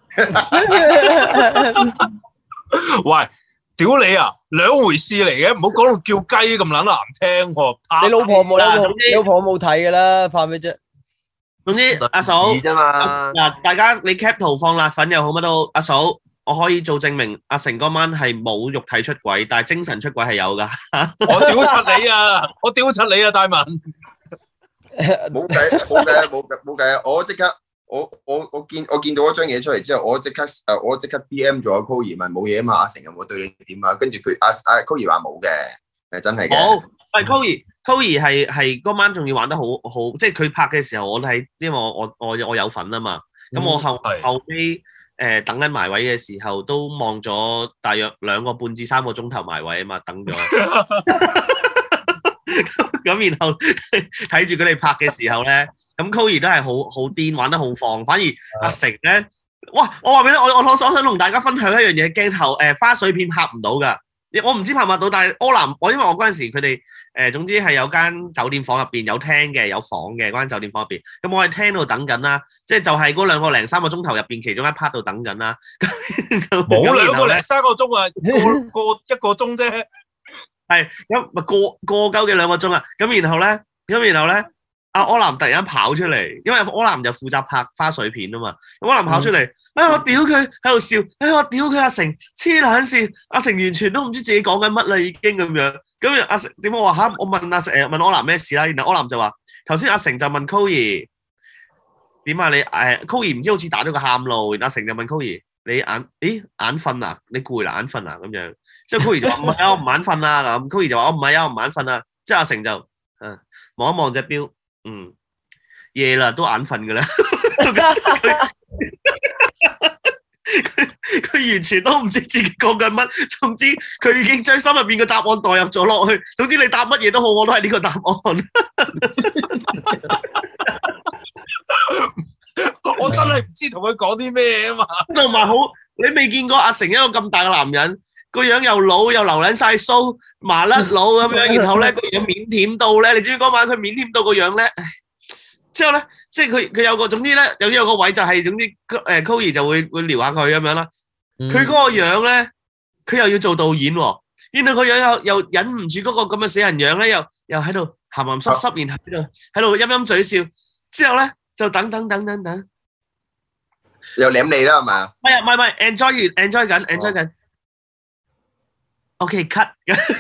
S1: 嘛。
S6: 喂，屌你啊，兩回事嚟嘅，唔好講到叫雞咁撚難聽喎。
S2: 你老婆冇，你老婆你老婆冇睇㗎啦，怕咩啫？
S4: 總之阿嫂
S5: 啫嘛。
S4: 嗱，大家你 cap 圖放辣粉又好乜都好，阿嫂我可以做證明，阿成嗰晚係冇肉體出軌，但係精神出軌係有㗎。
S6: 我屌柒你啊！我屌柒你啊，大文。
S1: 冇計冇計冇計冇計啊！我即刻我我我見我見到嗰張嘢出嚟之後，我即刻誒我即刻 D M 咗阿 Koey 問冇嘢啊嘛，阿成有冇對你點啊？跟住佢阿阿 Koey 話冇嘅，係真係嘅。
S4: 好，喂 Koey Koey 係係嗰晚仲要玩得好好，即係佢拍嘅時候我睇，因為我我我我有份啊嘛，咁我後後尾誒等緊埋位嘅時候都望咗大約兩個半至三個鐘頭埋位啊嘛，等咗。咁然後睇住佢哋拍嘅時候咧，咁 Koey 都係好好癲，玩得好放，反而阿成咧，哇！我話俾你，我我我想同大家分享一樣嘢，鏡頭誒、呃、花絮片拍唔到㗎。我唔知拍唔拍到，但係柯南，我因為我嗰陣時佢哋誒總之係有間酒店房入邊有廳嘅，有房嘅嗰間酒店房入邊，咁我喺廳度等緊啦，即係就係嗰兩個零三個鐘頭入邊其中一 part 度等緊啦。
S6: 冇兩個零三個鐘啊，個個一個鐘啫。
S4: 係咁咪過過鳩嘅兩個鐘啊，咁然後咧，咁然後咧，阿柯南突然間跑出嚟，因為柯南就負責拍花絮片啊嘛，咁柯南跑出嚟，哎我屌佢喺度笑，哎我屌佢阿成黐撚線，阿成完全都唔知自己講緊乜啦已經咁樣，咁阿成點解我話嚇？我問阿成誒問柯南咩事啦，然後柯南就話頭先阿成就問 Koey 點啊你誒 Koey 唔知好似打咗個喊路，然後阿成就問 Koey 你眼咦眼瞓啊？你攰啦眼瞓啊咁樣。之後 Koey 就話唔係啊，我唔眼瞓啊咁。Koey 就話我唔係啊，我唔眼瞓啊。之後阿成就嗯望一望隻錶，嗯夜啦都眼瞓㗎啦。佢佢完全都唔知自己講緊乜，總之佢已經將心入邊嘅答案代入咗落去。總之你答乜嘢都好，我都係呢個答案。
S6: 我真係唔知同佢講啲咩啊嘛。
S4: 同埋好，你未見過阿成一個咁大嘅男人。個樣又老又留撚晒鬚麻甩佬咁樣，然後咧個樣腼腆到咧，你知唔知嗰晚佢腼腆到個樣咧？之後咧，即係佢佢有個總之咧，有有個位就係總之誒 Koey 就會會撩下佢咁樣啦。佢嗰個樣咧，佢又要做導演喎，然後個樣又又忍唔住嗰個咁嘅死人樣咧，又又喺度鹹鹹濕濕，然後喺度喺度陰陰嘴笑。之後咧就等等等等等，
S1: 又舐你啦係嘛？
S4: 唔係唔係唔係 enjoy 完 enjoy 緊 enjoy 緊。OK，cut。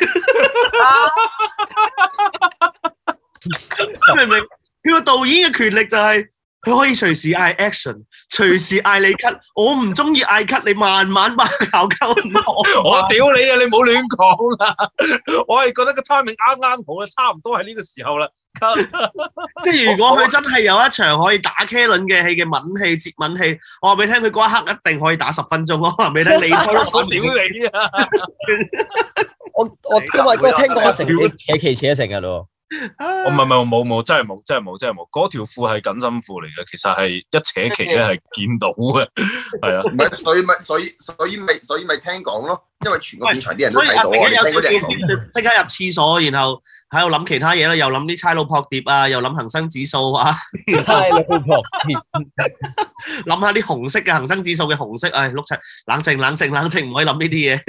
S4: 明唔明？佢個導演嘅權力就係佢可以隨時嗌 action，隨時嗌你 cut。我唔中意嗌 cut，你慢慢慢搞鳩我。
S6: 我屌你啊！你唔好亂講啦。我係覺得個 timing 啱啱好啦，差唔多係呢個時候啦。
S4: 即係如果佢真係有一場可以打茄輪嘅戲嘅吻戲、接吻戲，我話俾你聽，佢嗰一刻一定可以打十分鐘。我話俾你聽，你我
S6: 屌你啊！
S2: 我我因為我聽過阿成你扯旗扯成日咯。
S6: 我唔係唔係冇冇真係冇真係冇真係冇，嗰條褲係緊身褲嚟嘅，其實係一扯旗咧係見到嘅，係啊。
S1: 唔係所以咪所以所以咪所以咪聽講咯，因為全個片場啲人都睇到啊。你聽嗰啲人講，
S4: 即刻入廁所，然後喺度諗其他嘢啦，又諗啲差佬撲碟啊，又諗恒生指數啊，
S2: 差佬撲碟，
S4: 諗下啲紅色嘅恒生指數嘅紅色，唉，碌柒，冷靜冷靜冷靜，唔可以諗呢啲嘢。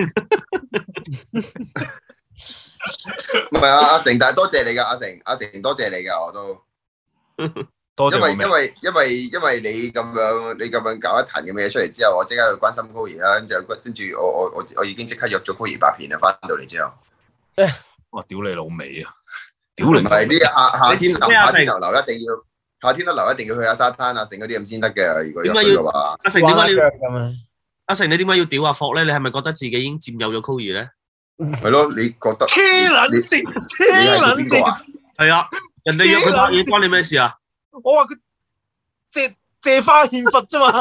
S1: 唔係啊，阿成，但係多謝你噶，阿成，阿成多謝你噶，我都
S6: 多謝
S1: 因為
S6: 我
S1: 因為因為因為你咁樣你咁樣搞一壇咁嘅嘢出嚟之後，我即刻去關心高兒啦，跟住跟住我我我我已經即刻約咗高兒拍片啦，翻到嚟之後。
S6: 哇！屌你老味啊！屌你！
S1: 唔係呢夏夏天流
S4: 你
S1: 夏天流流一定要夏天流流一定要去下沙灘啊，剩嗰啲咁先得嘅。如果入去嘅話，
S4: 阿成點解要
S2: 咁啊？
S4: 阿成你點解要屌阿霍咧？你係咪覺得自己已經佔有咗 Koey 咧？
S1: 係咯，你覺得？
S6: 黐撚線，黐
S1: 你係
S6: 撚
S1: 邊個啊？
S4: 係啊，人哋約佢拍嘢關你咩事啊？
S6: 我話佢借借花獻佛啫嘛。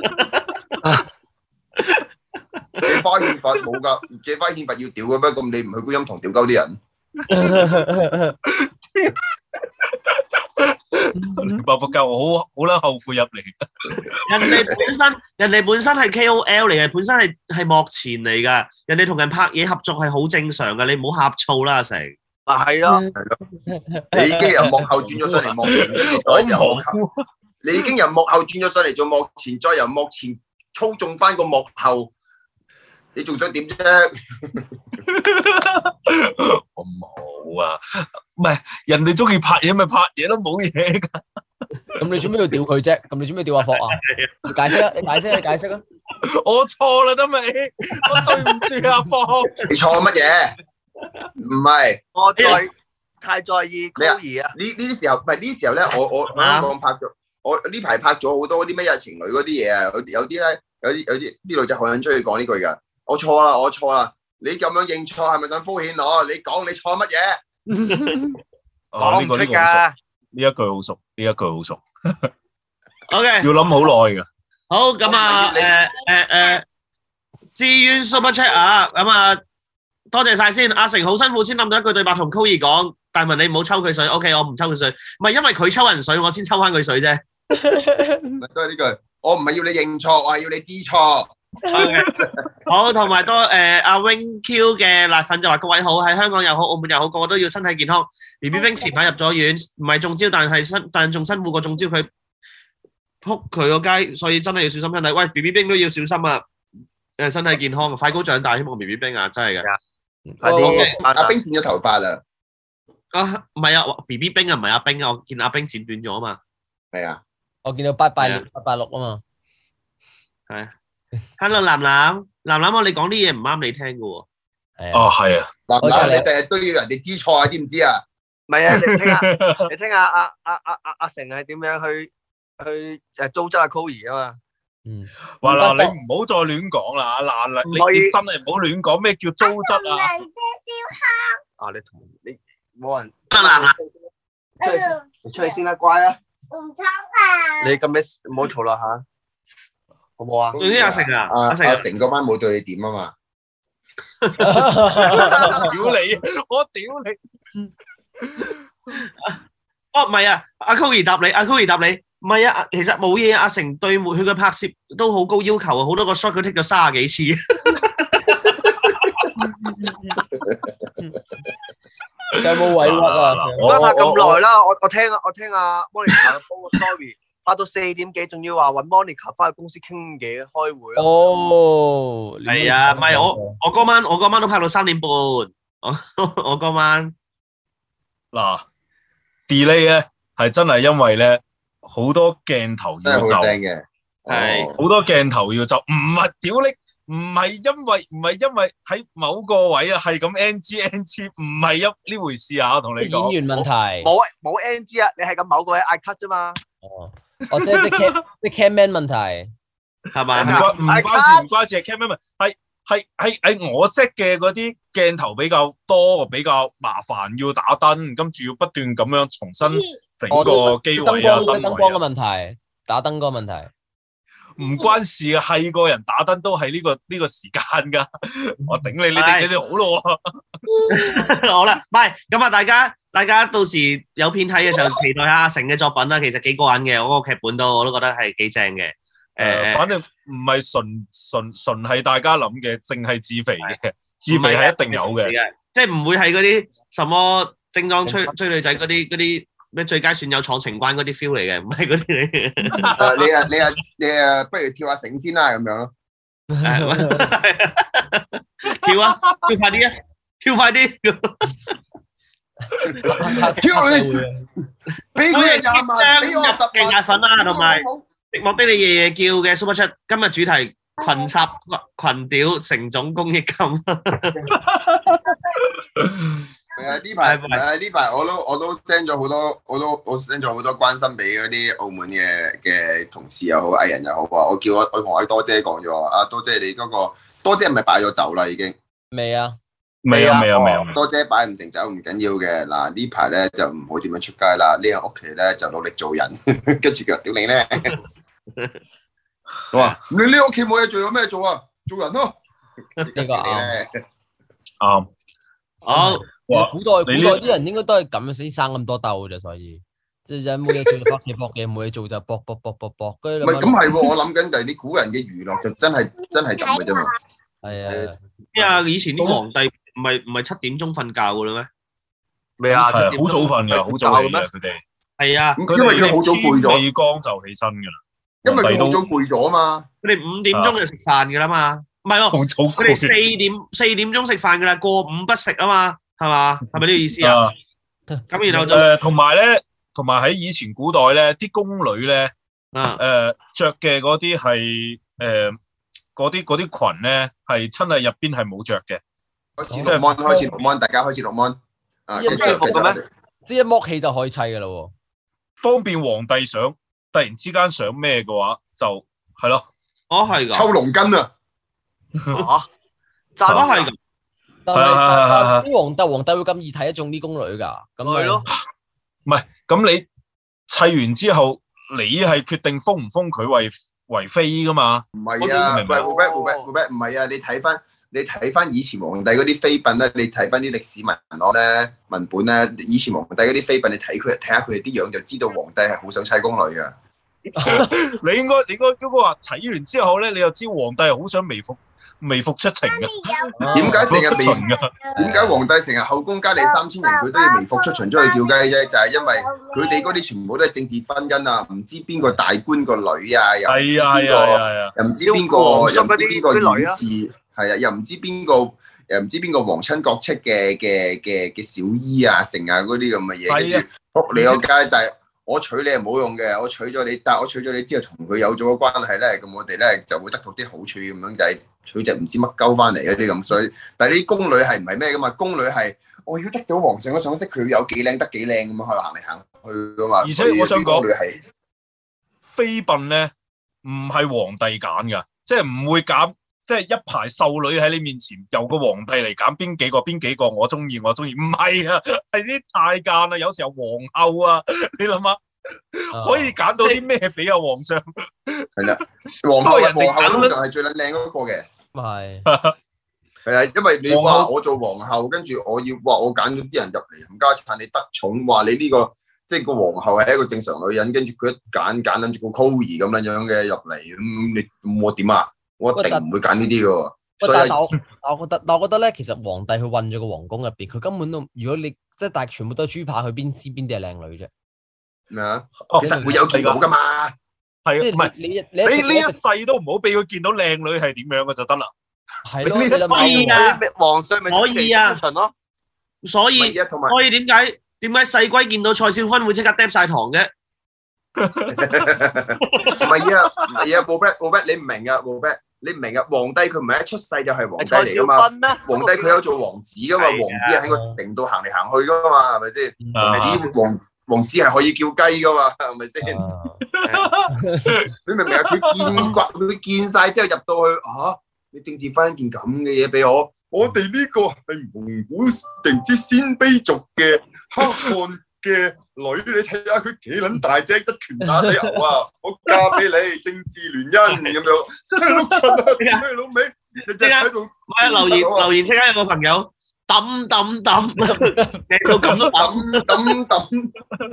S1: 借花獻佛冇㗎，借花獻佛要屌嘅咩？咁你唔去觀音堂屌鳩啲人？
S6: 爆爆鳩，我好好撚後悔入嚟。
S4: 人哋本身人哋本身係 K O L 嚟嘅，本身係係幕前嚟㗎。人哋同人拍嘢合作係好正常㗎，你唔好呷醋啦，阿成。
S5: 啊係咯，
S1: 你已經由幕後轉咗上嚟幕前，再由幕後，你已經由幕後轉咗上嚟做幕前，再由幕前操縱翻個幕後，你仲想點啫？
S6: 我冇啊，唔係人哋中意拍嘢咪拍嘢咯，冇嘢㗎。
S2: 咁你做咩要屌佢啫？咁你做咩屌阿霍啊？你解釋啊！你解釋啊！你解釋啊！
S6: 我錯啦，得未？我對唔住阿霍。
S1: 你錯乜嘢？唔係
S5: 我在太在意高兒啊！
S1: 呢呢啲時候，唔係呢啲時候咧，我我我香港拍咗，我呢排拍咗好多啲咩嘢情侶嗰啲嘢啊，有有啲咧，有啲有啲啲女仔好撚中意講呢句㗎。我錯啦，我錯啦！你咁樣認錯係咪想敷衍我？你講你錯乜嘢？
S6: 哦，呢個呢個好熟，呢一句好熟，呢一句好熟。
S4: O K，
S6: 要諗好耐㗎。
S4: 好咁啊，誒誒誒，志願 Super Chat 啊，咁啊。多謝晒先，阿成好辛苦先諗到一句對白同 Koey 講，大文你唔好抽佢水 ，OK， 我唔抽佢水，唔係因為佢抽人水，我先抽翻佢水啫。
S1: 都係呢句，我唔係要你認錯，我係要你知錯。
S4: Okay. 好，同埋多誒阿 Wing Q 嘅辣粉就話各位好，喺香港又好，澳門又好，個個都要身體健康。B B 冰前排入咗院，唔係中招，但係辛但仲辛苦過中招，佢撲佢個街，所以真係要小心身體。喂 ，B B 冰都要小心啊！誒，身體健康，快高長大，希望 B B 冰啊，真係嘅。
S5: 快啲，
S1: 阿冰剪咗頭髮啦。
S4: 啊，唔係啊 ，B B 冰啊，唔係阿冰啊，我見阿冰剪短咗啊嘛。
S1: 係啊，
S2: 我見到八八六八八六啊嘛。
S4: 係。Hello，南南，南南，我你講啲嘢唔啱你聽嘅喎。
S6: 哦，係啊。
S1: 南南，你第日都要人哋知錯啊，知唔知啊？
S5: 唔係啊，你聽下，你聽下阿阿阿阿阿成係點樣去去誒糟質阿 Koey 啊嘛。
S2: 嗯，
S6: 話嗱，你唔好再亂講啦，嗱，你你真係唔好亂講咩叫糟質啊！
S5: 啊，你同你冇人，
S4: 得啦，
S5: 你出去先啦，乖啊！
S3: 唔抽啊！
S5: 你咁樣唔好嘈啦吓，好唔好啊？
S4: 總之阿成啊，
S1: 阿
S4: 阿成
S1: 阿成嗰班冇對你點啊嘛。
S6: 屌你，我屌你！
S4: 哦，唔係啊，阿 Koey 答你，阿 Koey 答你。唔係啊，其實冇嘢，阿成對佢嘅拍攝都好高要求啊，好多個 shot 佢 take 咗三十幾次。
S2: 有冇委屈啊？
S5: 唔該拍咁耐啦，我我聽我聽阿 Monica 播個 story，拍到四點幾，仲要話揾 Monica 翻去公司傾嘢開會啊。
S2: 哦，
S4: 係啊，唔係我我嗰晚我嗰晚都拍到三點半，我我嗰晚
S6: 嗱 delay 咧係真係因為咧。好多鏡頭要就，
S1: 嘅，
S4: 係
S6: 好多鏡頭要就，唔係屌你，唔係因為唔係因為喺某個位啊，係咁 N G N G， 唔係一呢回事啊！我同你講，
S2: 演員問題，
S5: 冇冇 N G 啊，你係咁某個位嗌 cut 啫嘛。
S2: 哦，哦，即係啲 cam 啲 camman 問題，
S4: 係咪？
S6: 唔關唔關事，唔關事，係 camman 係係係係我識嘅嗰啲鏡頭比較多，比較麻煩，要打燈，跟住要不斷咁樣重新。整個機位啊，
S2: 燈光嘅問題，打燈嗰個問題，
S6: 唔關事啊，係個人打燈都係呢個呢個時間噶，我頂你，你哋你哋好咯喎，
S4: 好啦，唔係咁啊，大家大家到時有片睇嘅時候，期待下阿成嘅作品啦，其實幾過癮嘅，我個劇本都我都覺得係幾正嘅，
S6: 誒，反正唔係純純純係大家諗嘅，淨係自肥嘅，自肥係一定有嘅，
S4: 即係唔會係嗰啲什麼精裝追追女仔嗰啲嗰啲。咩最佳損友闖情關嗰啲 feel 嚟嘅，唔係嗰啲嚟嘅。
S1: 誒，你啊，你啊，你啊，不如跳下繩先啦，咁樣咯。
S4: 跳啊，跳快啲啊，跳快啲。
S1: 挑你，俾佢廿萬，俾我十萬，
S4: 嘅壓粉啦，同埋寂寞的你夜夜叫嘅 Super Chat，今日主題群插群屌成總公益金。
S1: 係啊，呢排係啊，呢排我都我都 send 咗好多，我都我 send 咗好多關心俾嗰啲澳門嘅嘅同事又好，藝人又好啊。我叫我我同我多姐講咗啊，多姐你嗰個多姐係咪擺咗酒啦已經？
S2: 未啊，
S6: 未啊，未啊，未啊。
S1: 多姐擺唔成酒唔緊要嘅，嗱呢排咧就唔好點樣出街啦，呢間屋企咧就努力做人，跟住佢屌你咧。我話你呢屋企冇嘢做，有咩做啊？做人咯。
S2: 呢個啱。
S6: 啱。
S4: 好。
S2: 古代古代啲人應該都係咁樣先生咁多竇啫，所以即係冇嘢做就搏嘢搏嘢，冇嘢做就搏搏搏搏搏。唔
S1: 係咁係喎，我諗緊就係啲古人嘅娛樂就真係真係咁嘅啫嘛。
S2: 係啊，
S4: 咩啊？以前啲皇帝唔係唔係七點鐘瞓覺噶啦咩？
S5: 咩啊？
S6: 係好早瞓㗎，好早起嘅佢哋。
S4: 係啊，
S1: 因為佢好早攰咗，
S6: 未光就起身㗎啦。
S1: 因為佢好早攰咗啊嘛。
S4: 佢哋五點鐘就食飯㗎啦嘛，唔係喎，佢哋四點四點鐘食飯㗎啦，過午不食啊嘛。係嘛？係咪呢個意思啊？咁然後就
S6: 誒，同埋咧，同埋喺以前古代咧，啲宮女咧，
S4: 誒
S6: 着嘅嗰啲係誒嗰啲嗰啲裙咧，係真係入邊係冇着嘅。
S1: 開始錄 mon，開始錄 mon，大家開始錄 mon。啊，
S2: 一剝咩？即係一剝起就可以砌㗎啦喎。方
S6: 便皇帝想突然之間想咩嘅話，就係咯。
S4: 哦，係㗎。
S1: 抽龍筋啊！
S5: 嚇，
S4: 真係㗎。
S2: 但係啲皇帝皇帝會咁易睇得中啲宮女㗎？咁
S5: 係咯，
S6: 唔係咁你砌完之後，你係決定封唔封佢為為妃㗎嘛？
S1: 唔係啊，喂，冇咩冇咩冇咩，唔係啊！你睇翻你睇翻以前皇帝嗰啲妃嬪咧，你睇翻啲歷史文案咧文本咧，以前皇帝嗰啲妃嬪，你睇佢睇下佢哋啲樣就知道皇帝係好想砌宮女㗎。
S6: 你應該你應該嗰個話睇完之後咧，你就知皇帝係好想微服。微服出巡嘅，
S1: 點解成日微？點解皇帝成日後宮佳麗三千人，佢都要微服出巡出去叫雞啫？就係因為佢哋嗰啲全部都係政治婚姻啊，唔知邊個大官個女啊，又唔知邊個，又唔知邊個，又唔知邊個院士，係啊，又唔知邊個，又唔知邊個皇親國戚嘅嘅嘅嘅小姨啊，成啊嗰啲咁嘅嘢，跟住仆你個街，但係。我娶你係冇用嘅，我娶咗你，但係我娶咗你之後同佢有咗個關係咧，咁我哋咧就會得到啲好處咁樣，就係娶隻唔知乜鳩翻嚟嗰啲咁，所以但係啲宮女係唔係咩噶嘛？宮女係我要得到皇上嘅賞識，佢有幾靚得幾靚咁樣去行嚟行去噶嘛。
S6: 而且我想講，
S1: 宮女係
S6: 妃嬪咧唔係皇帝揀噶，即係唔會揀。即係一排秀女喺你面前，由個皇帝嚟揀邊幾個邊幾個我中意我中意，唔係啊，係啲太監啊，有時候皇后啊，你諗下，可以揀到啲咩俾阿皇上？
S1: 係啦，皇后人哋皇后通常係最撚靚嗰個嘅，
S2: 係
S1: 係啊，因為你話我做皇后，跟住我要話我揀咗啲人入嚟冚家鏟，你得寵，話你呢個即係個皇后係一個正常女人，跟住佢一揀揀撚住個 Cory 咁樣樣嘅入嚟，咁你我點啊？我一定唔會揀呢啲嘅，所以
S2: 但我我覺得，但我覺得咧，其實皇帝佢混咗個皇宮入邊，佢根本都，如果你即係但係全部都係豬扒，佢邊知邊啲係靚女啫？
S1: 咩啊？其實會有見到噶嘛？
S6: 係
S2: 即係
S6: 唔係
S2: 你你
S6: 你呢一世都唔好俾佢見到靚女係點樣嘅就得啦。
S2: 係咯，
S4: 可以啊，
S5: 皇上咪
S4: 可以啊，
S5: 咯。
S4: 所以所以點解點解細龜見到蔡少芬會即刻嗒晒糖嘅？
S1: 唔係啊，唔係啊，冇 bet 冇 bet，你唔明啊，冇 bet。你唔明啊？皇帝佢唔係一出世就係皇帝嚟噶嘛？皇帝佢有做王子噶嘛？王子係喺個城度行嚟行去噶嘛？係咪先？王子王王子係可以叫雞噶嘛？係咪先？你明唔明啊？佢見慣，佢見晒之後入到去，吓你政治翻件咁嘅嘢俾我，我哋呢個係蒙古定之鮮卑族嘅黑漢嘅女，你睇下佢幾撚大隻，一拳打死牛啊！我嫁俾你，政治聯姻咁樣。碌柒啊！你老味，你即刻喺度，
S4: 我留言留言，即刻有個朋友抌抌抌，靚到咁都抌抌抌。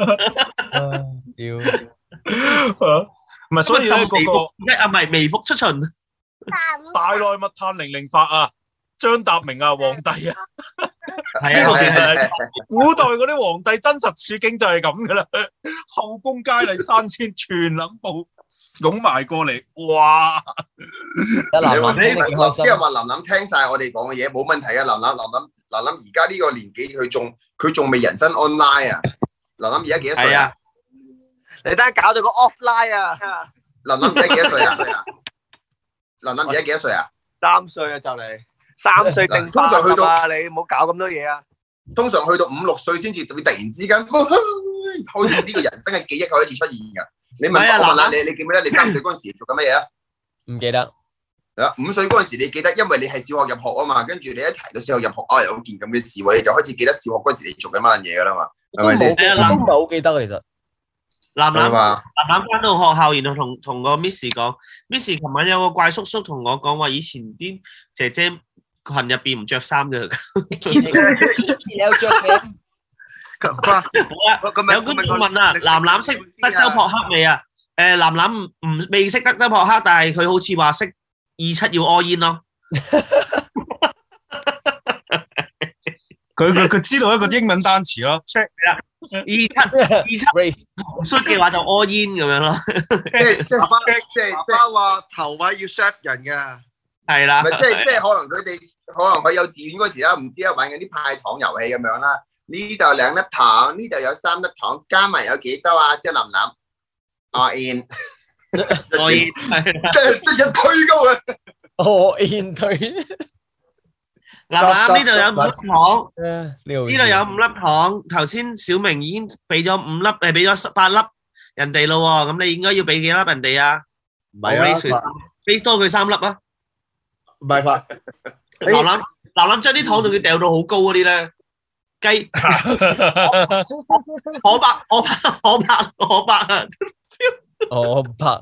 S2: 屌，
S6: 唔係所以咧嗰個
S4: 啊，唔係微服出巡，
S6: 大內密探零零發啊！張達明啊，皇帝啊，
S4: 係啊，
S6: 古代嗰啲皇帝真實處境就係咁噶啦，後宮佳麗三千，全撚部湧埋過嚟，哇！
S1: 你話啲人話林林聽晒我哋講嘅嘢，冇問題啊，林林林林嗱諗而家呢個年紀，佢仲佢仲未人生 online 啊！嗱諗而家幾多歲啊？
S5: 你等下搞到個 offline 啊！
S1: 嗱諗而家幾多歲啊？嗱諗而家幾多歲啊？
S5: 三歲啊就嚟，三歲定
S1: 通常去到
S5: 啊！你唔好搞咁多嘢啊！
S1: 通常去到五六歲先至會突然之間，開始呢個人生嘅記憶開始出現㗎。你問我問下你，你記唔記得你三歲嗰陣時做緊乜嘢啊？
S2: 唔記得。
S1: 啊，五歲嗰陣時你記得，因為你係小學入學啊嘛，跟住你一提到小學入學啊，有件咁嘅事喎，你就開始記得小學嗰陣時你做緊乜嘢㗎啦嘛，係咪先？
S2: 我都唔係好記得其實。
S4: 男男男男翻到學校，然後同同個 Miss 講 ，Miss 琴晚有個怪叔叔同我講話，以前啲姐姐群入邊唔着衫嘅。
S2: 有着嘅。
S4: 好啦，有觀眾問啊，男男識德州撲克未啊？誒，男男唔唔未識德州撲克，但係佢好似話識二七要 all in 咯。
S6: 佢佢佢知道一個英文單詞咯 ，check
S4: 啦，二七二七衰嘅話就 all in 咁樣咯。
S1: 即係即係即係即係
S5: 話頭位要 shut 人㗎，
S4: 係啦。
S1: 唔係即係即係可能佢哋可能佢幼稚園嗰時啦，唔知啦玩緊啲派糖遊戲咁樣啦。呢度兩粒糖，呢度有三粒糖，加埋有幾多啊？即係林林 all in
S4: all in
S1: 即係即係推高啊
S2: all in 推。
S4: 嗱嗱，呢度有五粒糖，
S2: 呢度
S4: 有五粒糖。頭先小明已經俾咗五粒，誒俾咗八粒人哋咯喎，咁你應該要俾幾粒人哋啊？
S5: 唔係啊，
S4: 俾多佢三粒啊！
S5: 唔係吧？
S4: 嗱嗱嗱嗱，將啲糖仲要掉到好高嗰啲咧，雞可白可白可白可白啊！
S2: 可白。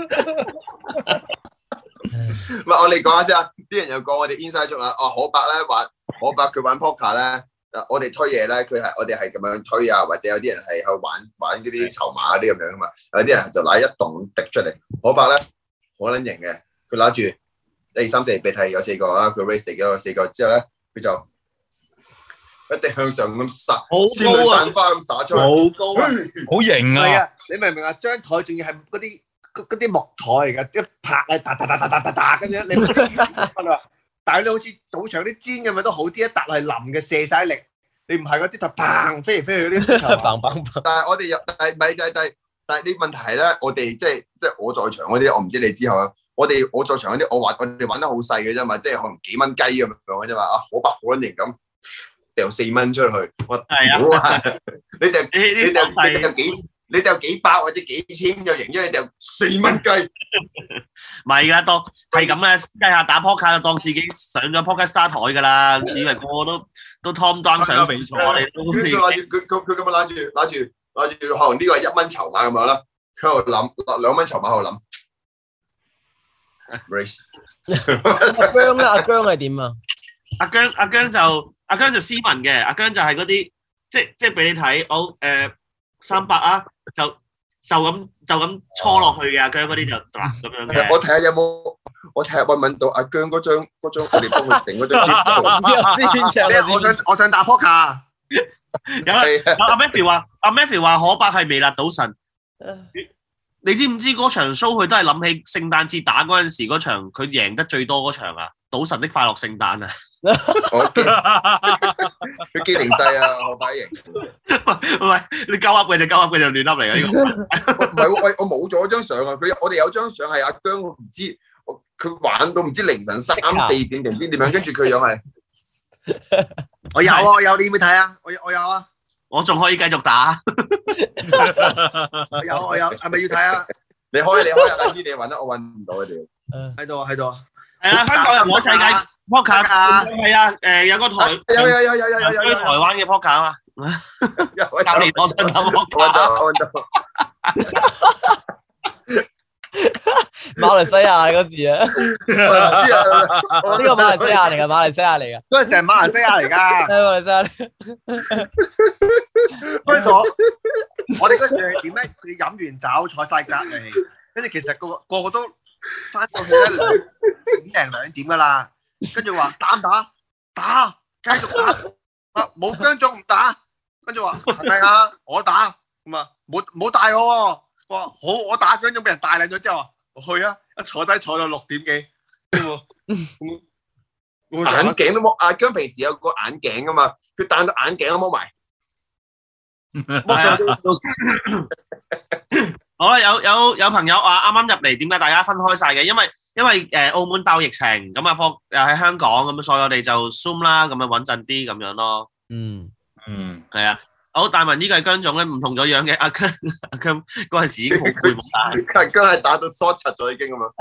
S1: 唔係，我哋講下先啊！啲人又講我哋 inside joke 啊，哦，可伯咧玩可伯佢玩 poker 咧，我哋推嘢咧，佢係我哋係咁樣推啊，或者有啲人係去玩玩嗰啲籌碼嗰啲咁樣噶嘛，有啲人就拿一棟滴出嚟，可伯咧好撚型嘅，佢拿住一二三四，你睇有四個啦，佢 raise 咗個四個之後咧，佢就一定向上咁撒，仙女散花咁撒出嚟，
S4: 好高啊，
S6: 好型啊！
S5: 你明唔明啊？張台仲要係嗰啲。嗰啲木台嚟㗎，一拍啊，嗒嗒嗒嗒嗒嗒嗒咁樣，你但係你好似賭場啲氈咁樣都好啲，一笪係腍嘅，射晒力。你唔係嗰啲就砰飛嚟飛去嗰啲，砰砰砰。
S1: 但係我哋又但係咪但係但係但係你問題係咧，我哋即係即係我在場嗰啲，我唔知你之後啊。我哋我在場嗰啲，我玩我哋玩得好細嘅啫嘛，即係可能幾蚊雞咁樣嘅啫嘛。啊，可白可型咁掉四蚊出去，我屌啊！你掉你掉你掉幾？你掉幾百或者幾千就贏咗，你掉四蚊雞，
S4: 唔係㗎，當係咁嘅，雞下打 poker 就當自己上咗 poker star 台㗎啦，以為個個都都 Tom Down 上比賽，我哋都
S1: 佢攞住佢佢佢咁樣攞住攞住攞住，可能呢個係一蚊籌碼咁樣啦，佢喺度諗兩蚊籌碼喺度諗 ，race
S2: 阿姜咧，阿姜係點啊？
S4: 阿姜阿姜就阿姜就斯文嘅，阿姜就係嗰啲即即係俾你睇，我誒三百啊。就就咁就咁搓落去嘅，阿姜嗰啲就嗱咁樣嘅。
S1: 我睇下有冇，我睇下揾唔揾到阿姜嗰張嗰張，我哋幫佢整嗰張貼圖。
S5: 我想我想打撲克。
S4: 有啊，阿 Matthew 話阿 Matthew 話可伯係微辣賭神。你知唔知嗰場 show 佢都係諗起聖誕節打嗰陣時嗰場，佢贏得最多嗰場啊！賭神的快樂聖誕啊！
S1: 佢機靈細啊，可伯型。
S4: 唔係你鳩噏嘅就鳩噏嘅就亂噏嚟嘅呢個。
S1: 唔係我我冇咗張相啊！佢我哋有張相係阿姜，我唔知佢玩到唔知凌晨三四點定唔知點樣，跟住佢樣係。
S5: 我有啊，我有，你要唔要睇啊？我我有啊。
S4: 我仲可以繼續打。
S5: 我有我有，係咪要睇啊？
S1: 你開你開啊！等啲你揾啦，我揾唔到佢哋。
S5: 喺度喺度。
S4: 係啊，香港人玩世界撲克啊！係啊，誒有個台
S1: 有有有有有有有
S4: 台灣嘅撲克啊嘛。教練我想打撲克。
S2: 馬來西亞嗰字啊！我知啊，呢個馬來西亞嚟㗎，馬來西亞嚟㗎。
S5: 嗰陣時係馬來西亞嚟㗎。
S2: 係馬來西亞。
S5: 跟住我，我哋嗰時係點咧？佢飲完酒坐晒隔離，跟住其實個個個都翻到去咧點零兩點㗎啦。跟住話打唔打？打，繼續打。啊，冇姜總唔打。跟住話係咪啊？我打。咁啊，冇冇帶我喎。我話好，我打姜總俾人帶領咗之後，我去啊！一坐低坐到六點幾，咁
S1: 眼鏡都冇。阿姜平時有個眼鏡噶嘛，佢戴到眼鏡都冇埋。
S4: 好啦，有有有朋友話啱啱入嚟，點解大家分開晒嘅？因為因為誒澳門爆疫情，咁啊科又喺香港，咁所以我哋就 Zoom 啦，咁樣穩陣啲咁樣咯。
S2: 嗯
S6: 嗯，
S4: 係啊。好，大文呢個係姜總咧，唔同咗樣嘅。阿姜阿姜嗰陣時已經好攰冇打，
S1: 阿姜係打到 short 柒咗已經咁樣。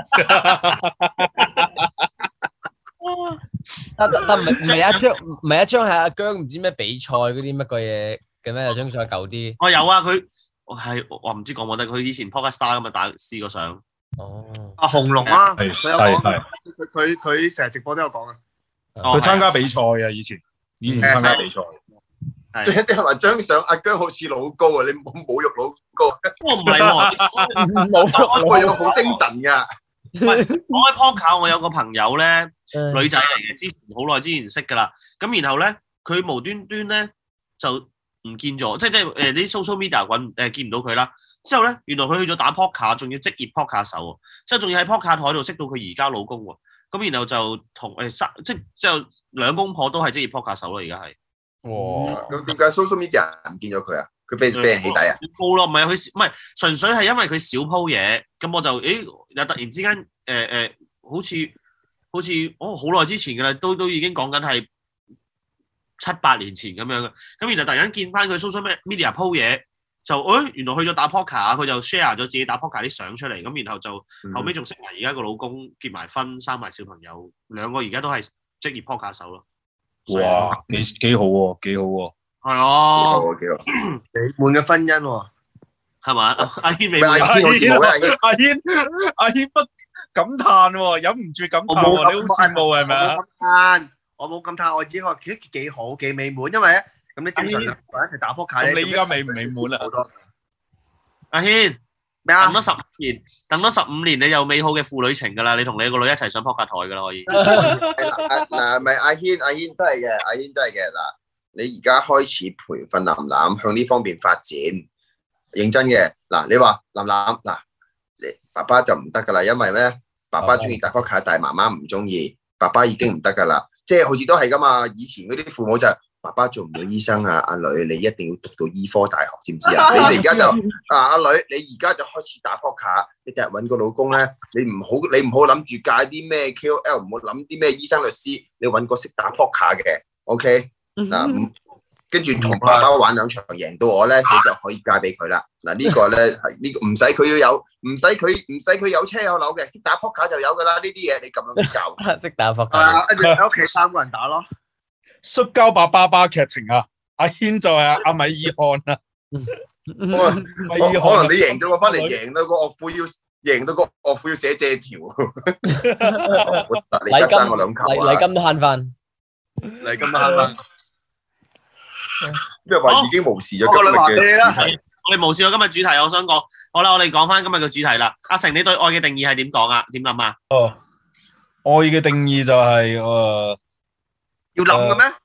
S2: 但但唔係唔係一張唔係一張係阿姜唔知咩比賽嗰啲乜鬼嘢嘅咩？有張相舊啲。
S4: 我有啊，佢係我唔知講冇得，佢以前 Podcast Star 咁啊打試過相。
S2: 哦，
S5: 阿紅龍啊，
S6: 係
S5: 佢有講，
S6: 係
S5: 佢佢佢成日直播都有講啊。
S4: 哦
S6: 佢參加比賽啊，以前以前參加比賽。
S1: 最一啲係話張相阿姜好似老高啊，你冇侮辱老高。
S4: 我唔係喎，
S2: 冇
S1: 我有好精神㗎。
S4: 講開 Podcast，我有個朋友咧，
S2: 女
S4: 女仔嚟嘅，之前好耐之前識㗎啦。咁然後咧，佢無端端咧就唔見咗，即係即係誒啲 social media 揾誒見唔到佢啦。之後咧，原來佢去咗打 Podcast，仲要職業 Podcast 手喎，之後仲要喺 Podcast 台度識到佢而家老公喎。咁然後就同誒三即係之後兩公婆都係職業 Podcast 手咯，而家係。
S2: 哇！
S1: 咁點解 social media 唔見咗佢啊？佢俾俾人起底啊？
S4: 冇咯，唔係佢唔係純粹係因為佢少鋪嘢，咁我就誒又突然之間誒誒、呃呃，好似好似哦好耐之前㗎啦，都都已經講緊係七八年前咁樣嘅，咁然後突然間見翻佢 social media 鋪嘢，就誒、哎、原來去咗打 poker，佢就 share 咗自己打 poker 啲相出嚟，咁然後就後尾仲識埋而家個老公結埋婚，生埋小朋友，兩個而家都係職業 poker 手咯。
S6: 哇，幾幾好喎，幾好喎。
S4: 係啊，
S1: 幾好。
S5: 美滿嘅婚姻喎，
S4: 係嘛？阿軒未
S1: 阿軒好似冇咩？
S6: 阿軒阿軒不感嘆喎，忍唔住感嘆喎，你好羨慕係咪啊？
S5: 我冇咁嘆，我已經話幾幾好幾美滿，因為咧咁你正常兩個人一齊打撲克咧，
S6: 咁你依家美唔美滿啊？
S4: 阿軒
S5: 咩啊？
S4: 等咗十年，等咗十五年，你有美好嘅父女情㗎啦，你同你個女一齊上撲克台㗎啦，可以。
S1: 嗱，咪阿軒，阿軒真係嘅，阿軒真係嘅。嗱，你而家開始培訓林林向呢方面發展，認真嘅。嗱，你話林林嗱，你爸爸就唔得㗎啦，因為咩？爸爸中意打撲克，但係媽媽唔中意，爸爸已經唔得㗎啦。即係好似都係㗎嘛，以前嗰啲父母就係爸爸做唔到醫生啊，阿女你一定要讀到醫科大學，知唔知啊？你哋而家就啊，阿女你而家就開始打撲克，你第日揾個老公咧，你唔好你唔好諗住戒啲咩 K O L， 唔好諗啲咩醫生律師，你揾個識打撲克嘅 ，OK 嗱，跟住同爸爸玩兩場贏到我咧，你就可以嫁俾佢啦。嗱呢個咧係呢個唔使佢要有，唔使佢唔使佢有車有樓嘅，識打撲克就有㗎啦。呢啲嘢你咁樣教，
S2: 識打撲克，
S5: 跟住喺屋企三個人打咯。
S6: 摔跤吧爸爸劇情啊，阿軒就係阿米爾汗啊。米爾
S1: 可
S6: 汗
S1: 能你贏咗我翻嚟，贏到個岳父要贏到個岳父要寫借條。你而家爭我兩球啊！
S2: 禮金都慳翻，
S5: 嚟咁慳翻。
S1: 即係話已經無視咗
S5: 我哋話
S1: 今日嘅
S5: 俾你啦，
S4: 我哋無視咗今日主題，我想講，好啦，我哋講翻今日嘅主題啦。阿成，你對愛嘅定義係點講啊？點諗啊？
S6: 哦，愛嘅定義就係誒。
S5: 要諗嘅咩？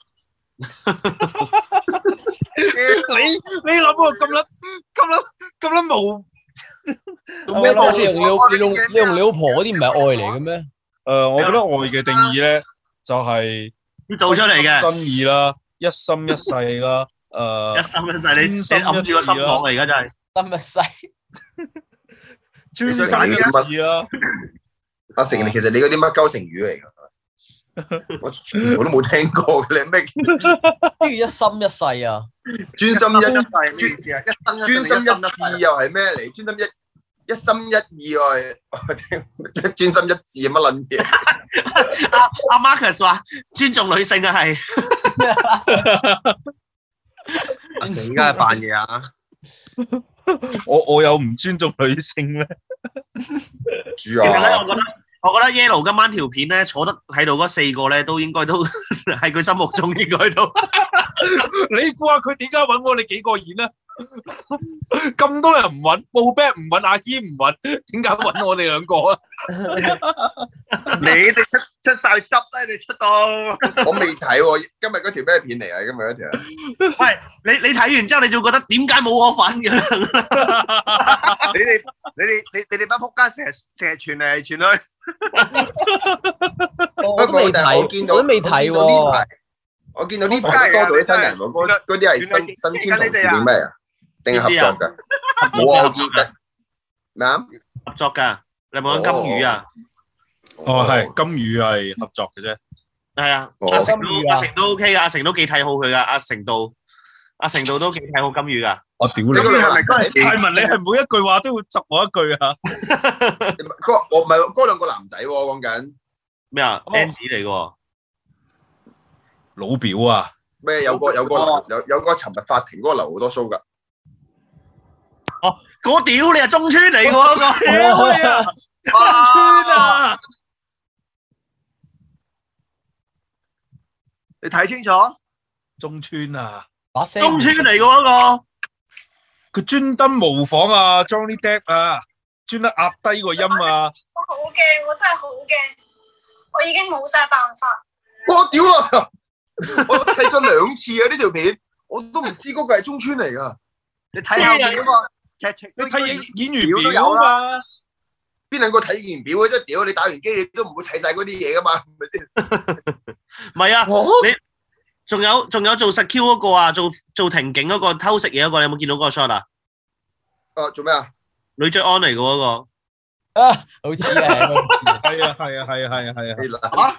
S6: 你你諗喎，咁撚咁撚咁撚無
S2: 咩多先用你你用你用你老婆嗰啲唔係愛嚟嘅咩？
S6: 誒，我覺得愛嘅定義咧就係
S4: 要做出嚟嘅，
S6: 真意啦，一心一世啦，誒，
S4: 一心一世，你你揞住個心講啊！而家真係
S2: 心一世，
S6: 專心一意啦。
S1: 阿成，其實你嗰啲乜鳩成語嚟㗎？我全部都冇聽過嘅，你咩？
S2: 跟住一心一世啊！
S1: 專心一專
S5: 專
S1: 專心一致又係咩嚟？專心一一心一意喎，專心一致乜撚嘢？
S4: 阿阿 Marcus 話尊重女性啊，係。
S5: 阿成而家係扮嘢啊！
S6: 我我有唔尊重女性咩？
S1: 主
S4: 其實咧，
S1: 啊！
S4: 我覺得我覺得 Yellow 今晚條片咧坐得喺度嗰四個咧，都應該都喺佢心目中應該都。
S6: 你估下佢點解揾我哋幾個演啊？咁多人唔揾，報 back 唔揾，阿軒唔揾，點解揾我哋兩個啊？
S5: 你哋出出晒汁咧，你出到。
S1: 我未睇喎，今日嗰條咩片嚟啊？今日嗰條。
S4: 喂，你你睇完之後，你就覺得點解冇我份嘅？
S5: 你哋你哋你你哋班仆街成日成日傳嚟傳去。
S2: 我都未睇，
S1: 我見到
S2: 我都未睇喎。
S1: 我見到呢排多咗啲新人喎，嗰嗰啲係新新簽同事定咩啊？定係合作㗎？冇啊，我見緊咩啊？
S4: 合作㗎，你有冇講金魚啊？
S6: 哦，係金魚係合作嘅啫。
S4: 係啊，阿成都阿成都 OK 㗎，阿成都幾睇好佢㗎，阿成道阿成道都幾睇好金魚㗎。
S6: 我屌你！
S5: 咁你係咪嗰係
S6: 泰文？你係每一句話都會窒我一句啊？
S1: 嗰我唔係嗰兩個男仔喎，講緊
S4: 咩啊 ？Andy 嚟嘅喎，
S6: 老表啊！
S1: 咩？有個有個有有個尋日法庭嗰個留好多須㗎。
S4: 哦，嗰屌你係中村嚟嘅喎，
S6: 屌你啊！中村啊！
S5: 你睇清楚？
S6: 中村啊！
S2: 把聲
S4: 中村嚟嘅嗰個。
S6: 佢專登模仿啊 Johnny Depp 啊，專登壓低個音啊！
S7: 我好驚，我真係好驚，我已經冇晒辦法。
S1: 我屌啊！我睇咗兩次啊！呢條片我都唔知嗰個係中村嚟㗎。
S5: 你睇下嗰個劇情，
S6: 你睇演演員表嘛？
S1: 邊兩個睇演員表嘅啫？屌你打完機你都唔會睇晒嗰啲嘢㗎嘛？係咪先？
S4: 唔係啊，你仲有仲有做實 Q 嗰個啊，做做庭警嗰個偷食嘢嗰個，你有冇見到嗰個 shot 啊？
S1: 誒做咩啊？
S4: 女追安嚟嘅嗰個。
S2: 啊，好似係，
S6: 係啊係啊係啊係啊係啊！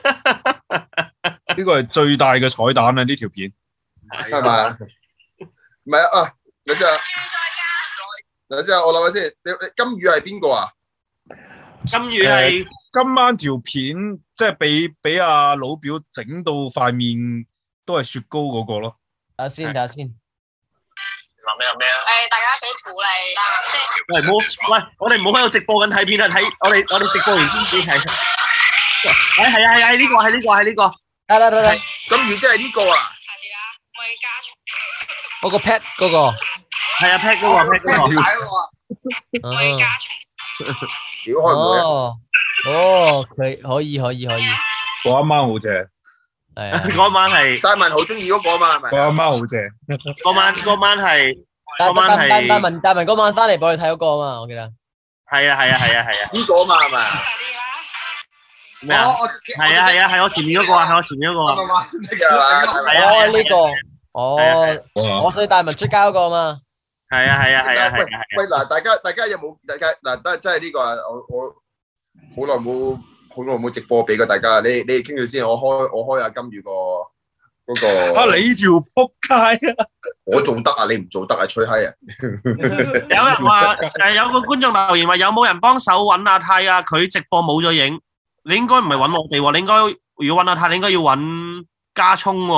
S6: 呢個係最大嘅彩蛋啊！呢條片
S1: 係咪？唔係啊啊！等陣啊，等陣啊，我諗下先。你你金魚係邊個啊？
S4: 金魚係
S6: 今晚條片即係俾俾阿老表整到塊面都係雪糕嗰個咯。
S2: 睇下先，睇下先。
S7: 諗咩諗咩啊？誒，大家俾鼓勵啦，即係。
S4: 喂，唔好，喂，我哋唔好喺度直播緊睇片啊！睇我哋我哋直播完先至睇。誒係啊係啊，呢個係呢個係呢個。
S2: 得得得得。
S1: 金魚即係呢個啊？
S7: 係啊，我要加重。
S2: 嗰個 pet 嗰個。
S4: 係啊 pet 嗰個 pet 嗰個。
S7: 我要加重。
S1: 屌開唔會啊？
S2: 哦哦，佢可以可以可以。
S6: 嗰阿媽好正。
S2: 係啊。
S4: 嗰晚係。
S1: 戴文好中意嗰個啊嘛，係咪？
S6: 嗰阿媽好正。
S4: 嗰晚嗰晚係。
S2: 嗰
S4: 晚係。
S2: 戴戴文戴文嗰晚翻嚟幫你睇嗰個啊嘛，我記得。
S4: 係啊係啊係啊係啊。
S1: 呢個啊嘛係咪？
S4: 咩啊？係啊係啊係我前面嗰個啊，係我前面嗰個啊。
S2: 哦呢個，哦，我所以戴文出街嗰個啊嘛。
S4: 係啊係啊係啊係啊。
S1: 喂嗱，大家大家有冇大家嗱？真真係呢個啊！我我好耐冇好耐冇直播俾過大家。你你哋傾住先，我開我開下金魚個嗰個。
S6: 啊！你條撲街啊！
S1: 我做得啊，你唔做得啊，吹閪啊！
S4: 有人話誒，有個觀眾留言話有冇人幫手揾阿泰啊？佢直播冇咗影。你應該唔係揾我哋喎，你應該如果揾阿泰，你應該要揾加聰喎。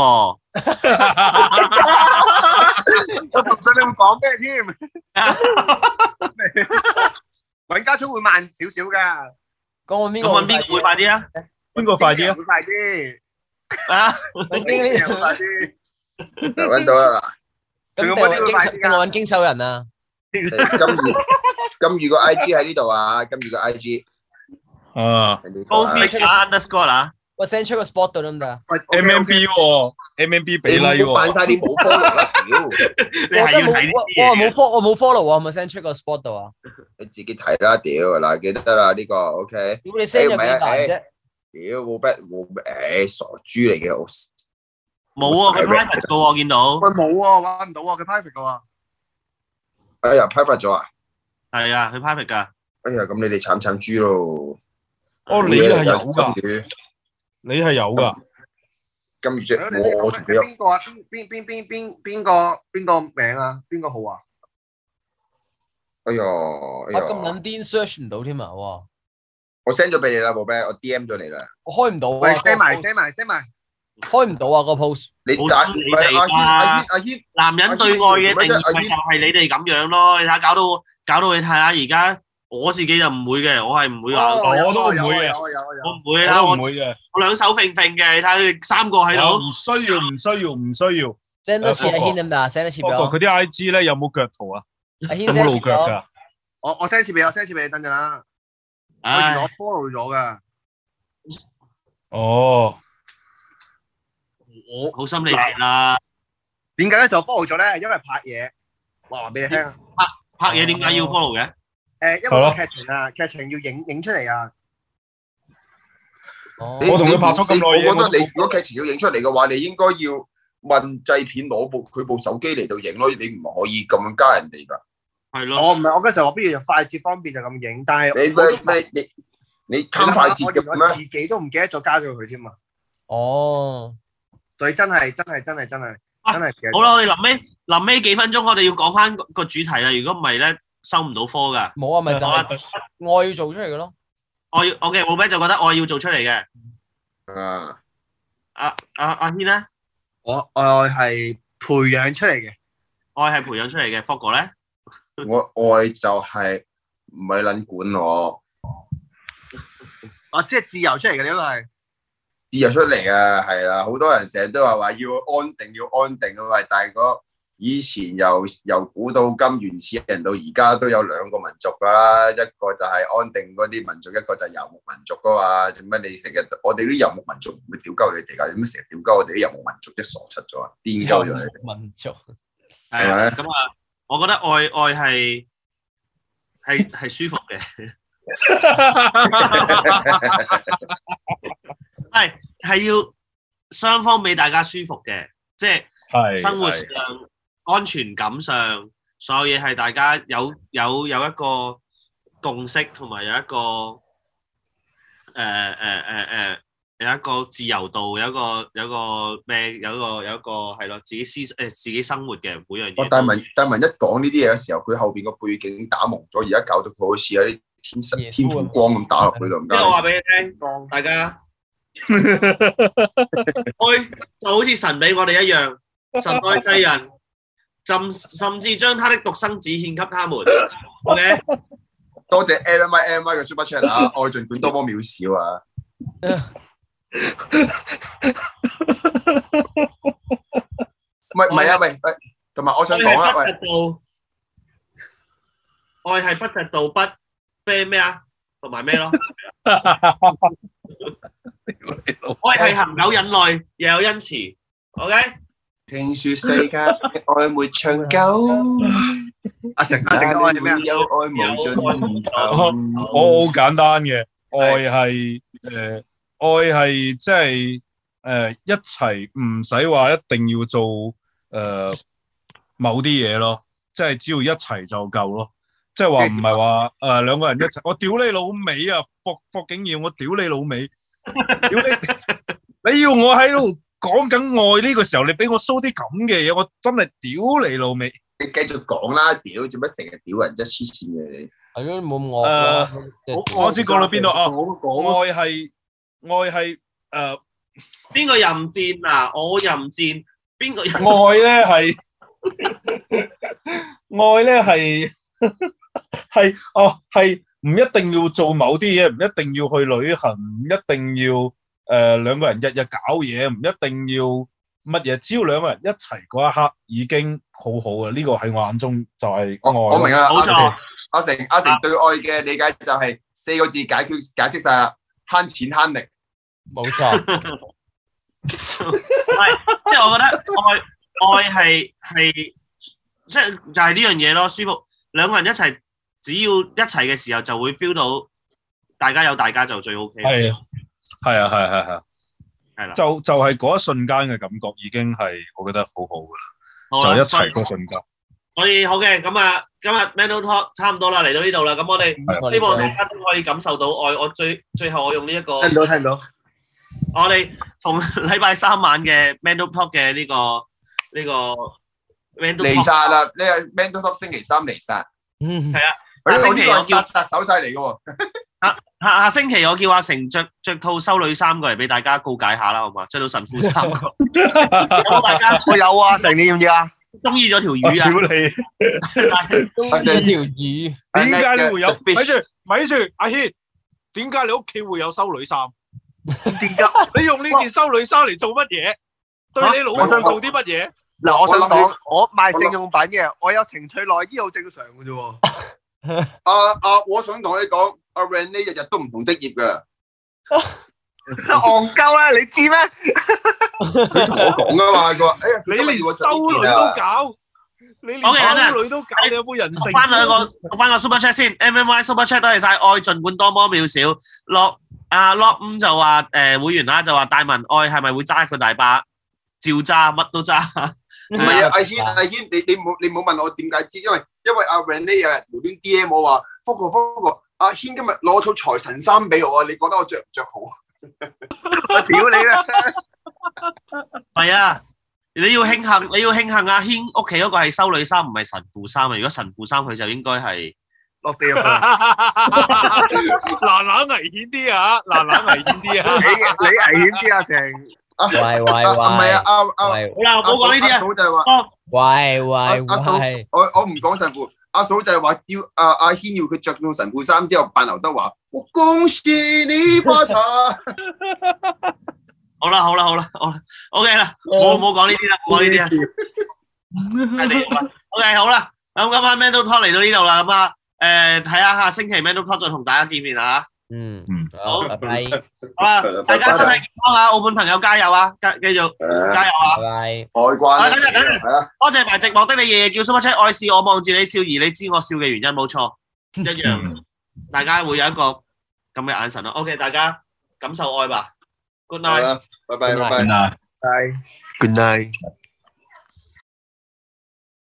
S5: 我唔信你會講咩添？揾加聰會慢少少㗎。
S2: 講揾邊個？
S4: 咁揾邊個會快啲啊？
S6: 邊個快啲啊？
S5: 會快啲。
S4: 啊！
S2: 揾經理
S5: 會快啲。
S1: 揾到啦
S2: 嗱。咁定揾經定揾經手人啊？
S1: 金魚金魚個 I G 喺呢度啊！金魚個 I G。
S6: 啊
S4: ，Coffee underscore 啦，
S2: 我 send 出個 spot 度得唔得啊
S6: ？M M B 喎 ，M M B 俾 like 喎。
S1: 扮晒你冇 follow 啦，屌！
S4: 你係要睇呢啲嘢。
S2: 我冇 follow，我冇 follow 啊，係咪 send 出個 spot 度啊？
S1: 你自己睇啦，屌嗱，記得啦呢個 OK。
S2: 屌你 send 咗幾大啫？
S1: 屌冇乜冇誒傻豬嚟嘅我。
S4: 冇啊，佢 private 噶喎，見到。
S5: 喂冇喎，揾唔到喎，佢 private 噶喎。
S1: 哎呀 private 咗啊？
S4: 係啊，佢 private 噶。
S1: 哎呀，咁你哋慘慘豬咯〜
S6: 哦，你係有噶，你係有噶。
S1: 金魚啫，我我同佢有。
S5: 邊個啊？邊邊邊邊邊個邊個名啊？邊個號啊？
S1: 哎呀，哎呀，
S2: 咁撚癲 search 唔到添啊！哇！
S1: 我 send 咗俾你啦，寶貝，我 D M 咗你啦。
S2: 我開唔到啊！
S5: 喂 ，send 埋 send 埋 send 埋。
S2: 開唔到啊！個 post。
S1: 你打唔係阿軒阿軒阿軒，
S4: 男人對愛嘅定義咪就係你哋咁樣咯？你睇下搞到搞到你睇下而家。我自己就唔會嘅，我係唔會話，
S6: 我都唔會嘅，
S5: 我
S4: 唔會啦，
S6: 我唔會嘅，
S4: 我兩手揈揈嘅，你睇下佢哋三個喺度，
S6: 唔需要，唔需要，唔需要。
S2: send 多次阿軒得唔得啊 ？send 多次俾我。
S6: 佢啲 I G 咧有冇腳圖啊？
S2: 阿軒
S6: 有冇露腳㗎？
S5: 我我 send 次俾我 send 次俾你等陣啦。我原來我 follow 咗㗎。
S6: 哦，
S4: 我好心你哋啦。
S5: 點解咧就 follow 咗咧？因為拍嘢，話俾你聽。
S4: 拍拍嘢點解要 follow 嘅？
S5: 誒，因為個劇情啊，劇情要影影出嚟啊。
S1: 你
S6: 我同佢拍咗咁耐嘢，
S1: 我覺得你如果劇情要影出嚟嘅話，你應該要問製片攞部佢部手機嚟到影咯，你唔可以咁樣加人哋㗎。
S4: 係咯，
S5: 我唔係我嗰時候我不如就快捷方便就咁影，但係
S1: 你你你你貪快捷嘅
S5: 我自
S1: 咩？
S5: 己都唔記得咗加咗佢添啊！
S2: 哦，
S5: 所以真係真係真係真係真係嘅。
S4: 好啦，我哋臨尾臨尾幾分鐘，我哋要講翻個主題啦。如果唔係咧，收唔到科㗎。
S2: 冇啊，咪就係我要做出嚟嘅咯。
S4: 我要我嘅老闆就覺得我要做出嚟嘅。
S1: 啊，
S4: 阿阿阿軒咧，
S5: 我我係培養出嚟嘅，
S4: 愛係培養出嚟嘅。福哥咧，
S1: 我愛就係唔係撚管我，
S5: 啊即係自由出嚟嘅，呢個係
S1: 自由出嚟啊，係啦，好多人成日都話話要安定要安定啊，喂，但係嗰以前由由古到今原始人到而家都有兩個民族噶啦，一個就係安定嗰啲民族，一個就係遊牧民族噶嘛。做乜你成日我哋啲遊牧民族唔會屌鳩你哋㗎？點解成日屌鳩我哋啲遊牧民族即係傻柒咗啊？癲鳩咗你哋
S2: 民族
S4: 係啊，咁啊，我覺得愛愛係係係舒服嘅，係係要雙方俾大家舒服嘅，即係
S6: 係
S4: 生活上。安全感上，所有嘢係大家有有有一個共識，同埋有一個誒誒誒誒有一個自由度，有一個有一個咩，有一個有一個係咯，自己思誒自己生活嘅每樣嘢。
S1: 但文但文一講呢啲嘢嘅時候，佢後邊個背景打蒙咗，而家搞到佢好似有啲天神天賦光咁打落去度。
S4: 即係我話俾你聽，大家愛就好似神俾我哋一樣，神愛世人。甚甚至將他的獨生子獻給他們。OK，
S1: 多謝 M M I M M I 嘅 Super Chat 啊！愛盡管多麼渺小啊！唔係唔係啊，喂喂，同埋我想講啊，喂，
S4: 愛係不嫉妒不咩咩啊，同埋咩咯？愛係恒久忍耐，又有恩慈。OK。
S1: 聽說世界愛沒長久，
S5: 阿成阿成愛係咩啊？
S1: 有愛無盡頭。
S6: 我好簡單嘅，愛係誒，愛係即係誒一齊，唔使話一定要做誒某啲嘢咯，即係只要一齊就夠咯。即係話唔係話誒兩個人一齊，我屌你老味啊！霍霍景耀，我屌你老味，屌你！你要我喺度。講緊愛呢個時候，你俾我 show 啲咁嘅嘢，我真係屌你老味！
S1: 你繼續講啦，屌做乜成日屌人啫？黐線嘅你。
S2: 係咯，冇咁惡啦。
S6: 我先講到邊度啊？愛係愛係誒，
S4: 邊個任戰啊？我任戰，邊個？
S6: 愛咧係愛咧係係哦，係唔一定要做某啲嘢，唔一定要去旅行，唔一定要。誒、呃、兩個人日日搞嘢，唔一定要乜嘢，只要兩個人一齊嗰一刻已經好好嘅，呢、這個喺我眼中就係愛。
S1: 我我明啦，
S4: 冇錯。
S1: 阿成阿成對愛嘅理解就係四個字解決解釋晒啦，慳錢慳力。
S2: 冇錯。
S4: 係，即係我覺得愛愛係係即係就係呢樣嘢咯，舒服。兩個人一齊，只要一齊嘅時候就會 feel 到大家有大家就最 OK。
S6: 係。係啊，係係係，
S4: 係啦，
S6: 就就係嗰一瞬間嘅感覺已經係我覺得好好噶啦，就一齊嗰瞬間。
S4: 所以好嘅，咁啊，今日 Mental Talk 差唔多啦，嚟到呢度啦，咁我哋希望大家都可以感受到愛。我最最後我用呢一個，
S5: 聽到聽到，
S4: 我哋逢禮拜三晚嘅 Mental Talk 嘅呢個呢個 Mental Talk
S1: 離殺啦，呢個 Mental Talk 星期三離殺，
S4: 係啊，
S1: 下
S4: 星期我叫
S1: 特手勢嚟嘅喎。
S4: 下下下星期我叫阿成着着套修女衫過嚟俾大家告解下啦，好嘛？着到神父衫，有冇大家？
S5: 我有啊，成你要唔要啊？
S4: 中意咗條魚啊！
S6: 屌你！
S2: 中意條魚，
S6: 點解你會有？咪住咪住，阿軒，點解你屋企會有修女衫？
S5: 點解？
S6: 你用呢件修女衫嚟做乜嘢？對你老婆做啲乜嘢？
S5: 嗱，我想講，我賣性用品嘅，我有情趣內衣好正常嘅啫喎。
S1: 啊啊！我想同你講，阿 Rennie 日日都唔同職業嘅，
S5: 戇鳩啦，你知咩？
S1: 佢同我講噶嘛，佢話：哎呀，
S6: 你連修女都搞，你連修女都搞，你有冇人性？
S4: 讀翻兩個，讀翻個 Super Chat 先 ，M M Y Super Chat 多謝晒，愛盡管多麼渺小，落阿 Lock 五就話誒會員啦，就話大文愛係咪會揸佢大把？照揸，乜都揸。
S1: 唔係啊，阿軒阿軒，你你冇你冇問我點解知，因為因為阿 Renee 有日無端 D M 我話，福哥福哥，阿軒今日攞套財神衫俾我啊，你覺得我着唔着好？我屌你啦！
S4: 係啊，你要慶幸，你要慶幸阿軒屋企嗰個係修女衫，唔係神父衫啊！如果神父衫，佢就應該係
S5: 落地獄。
S6: 嗱嗱危險啲啊！嗱嗱危險啲啊！
S5: 你你危險啲啊，成。
S2: 喂喂喂，
S1: 唔係啊，阿阿
S4: 好啦，唔好講呢啲啊。
S1: 阿嫂就係話，
S2: 喂喂
S1: 阿嫂，
S2: 喂，
S1: 我我唔講神父，阿嫂就係話要阿阿軒要佢着到神父衫之後扮劉德華，我恭喜你發財。
S4: 好啦好啦好啦好啦 ，OK 啦，冇冇講呢啲啦，冇呢啲啊。OK 好啦，咁今晚 Mental Talk 嚟到呢度啦，咁啊誒睇下下星期 Mental Talk 再同大家見面啦嚇。
S2: 嗯
S6: 嗯，
S4: 好，
S2: 拜拜，
S4: 好啦，大家身體健康啊！澳門朋友加油啊！繼繼續加油啊！
S2: 拜拜。
S1: 海關
S4: 啊等陣等陣
S1: 係啊，
S4: 多謝埋寂寞的你夜夜叫 Super Chat，愛是我望住你笑，而你知我笑嘅原因冇錯，一樣，大家會有一個咁嘅眼神咯。OK，大家感受愛吧。Good night。
S1: 拜拜拜拜。
S6: 嗱。
S5: Good night。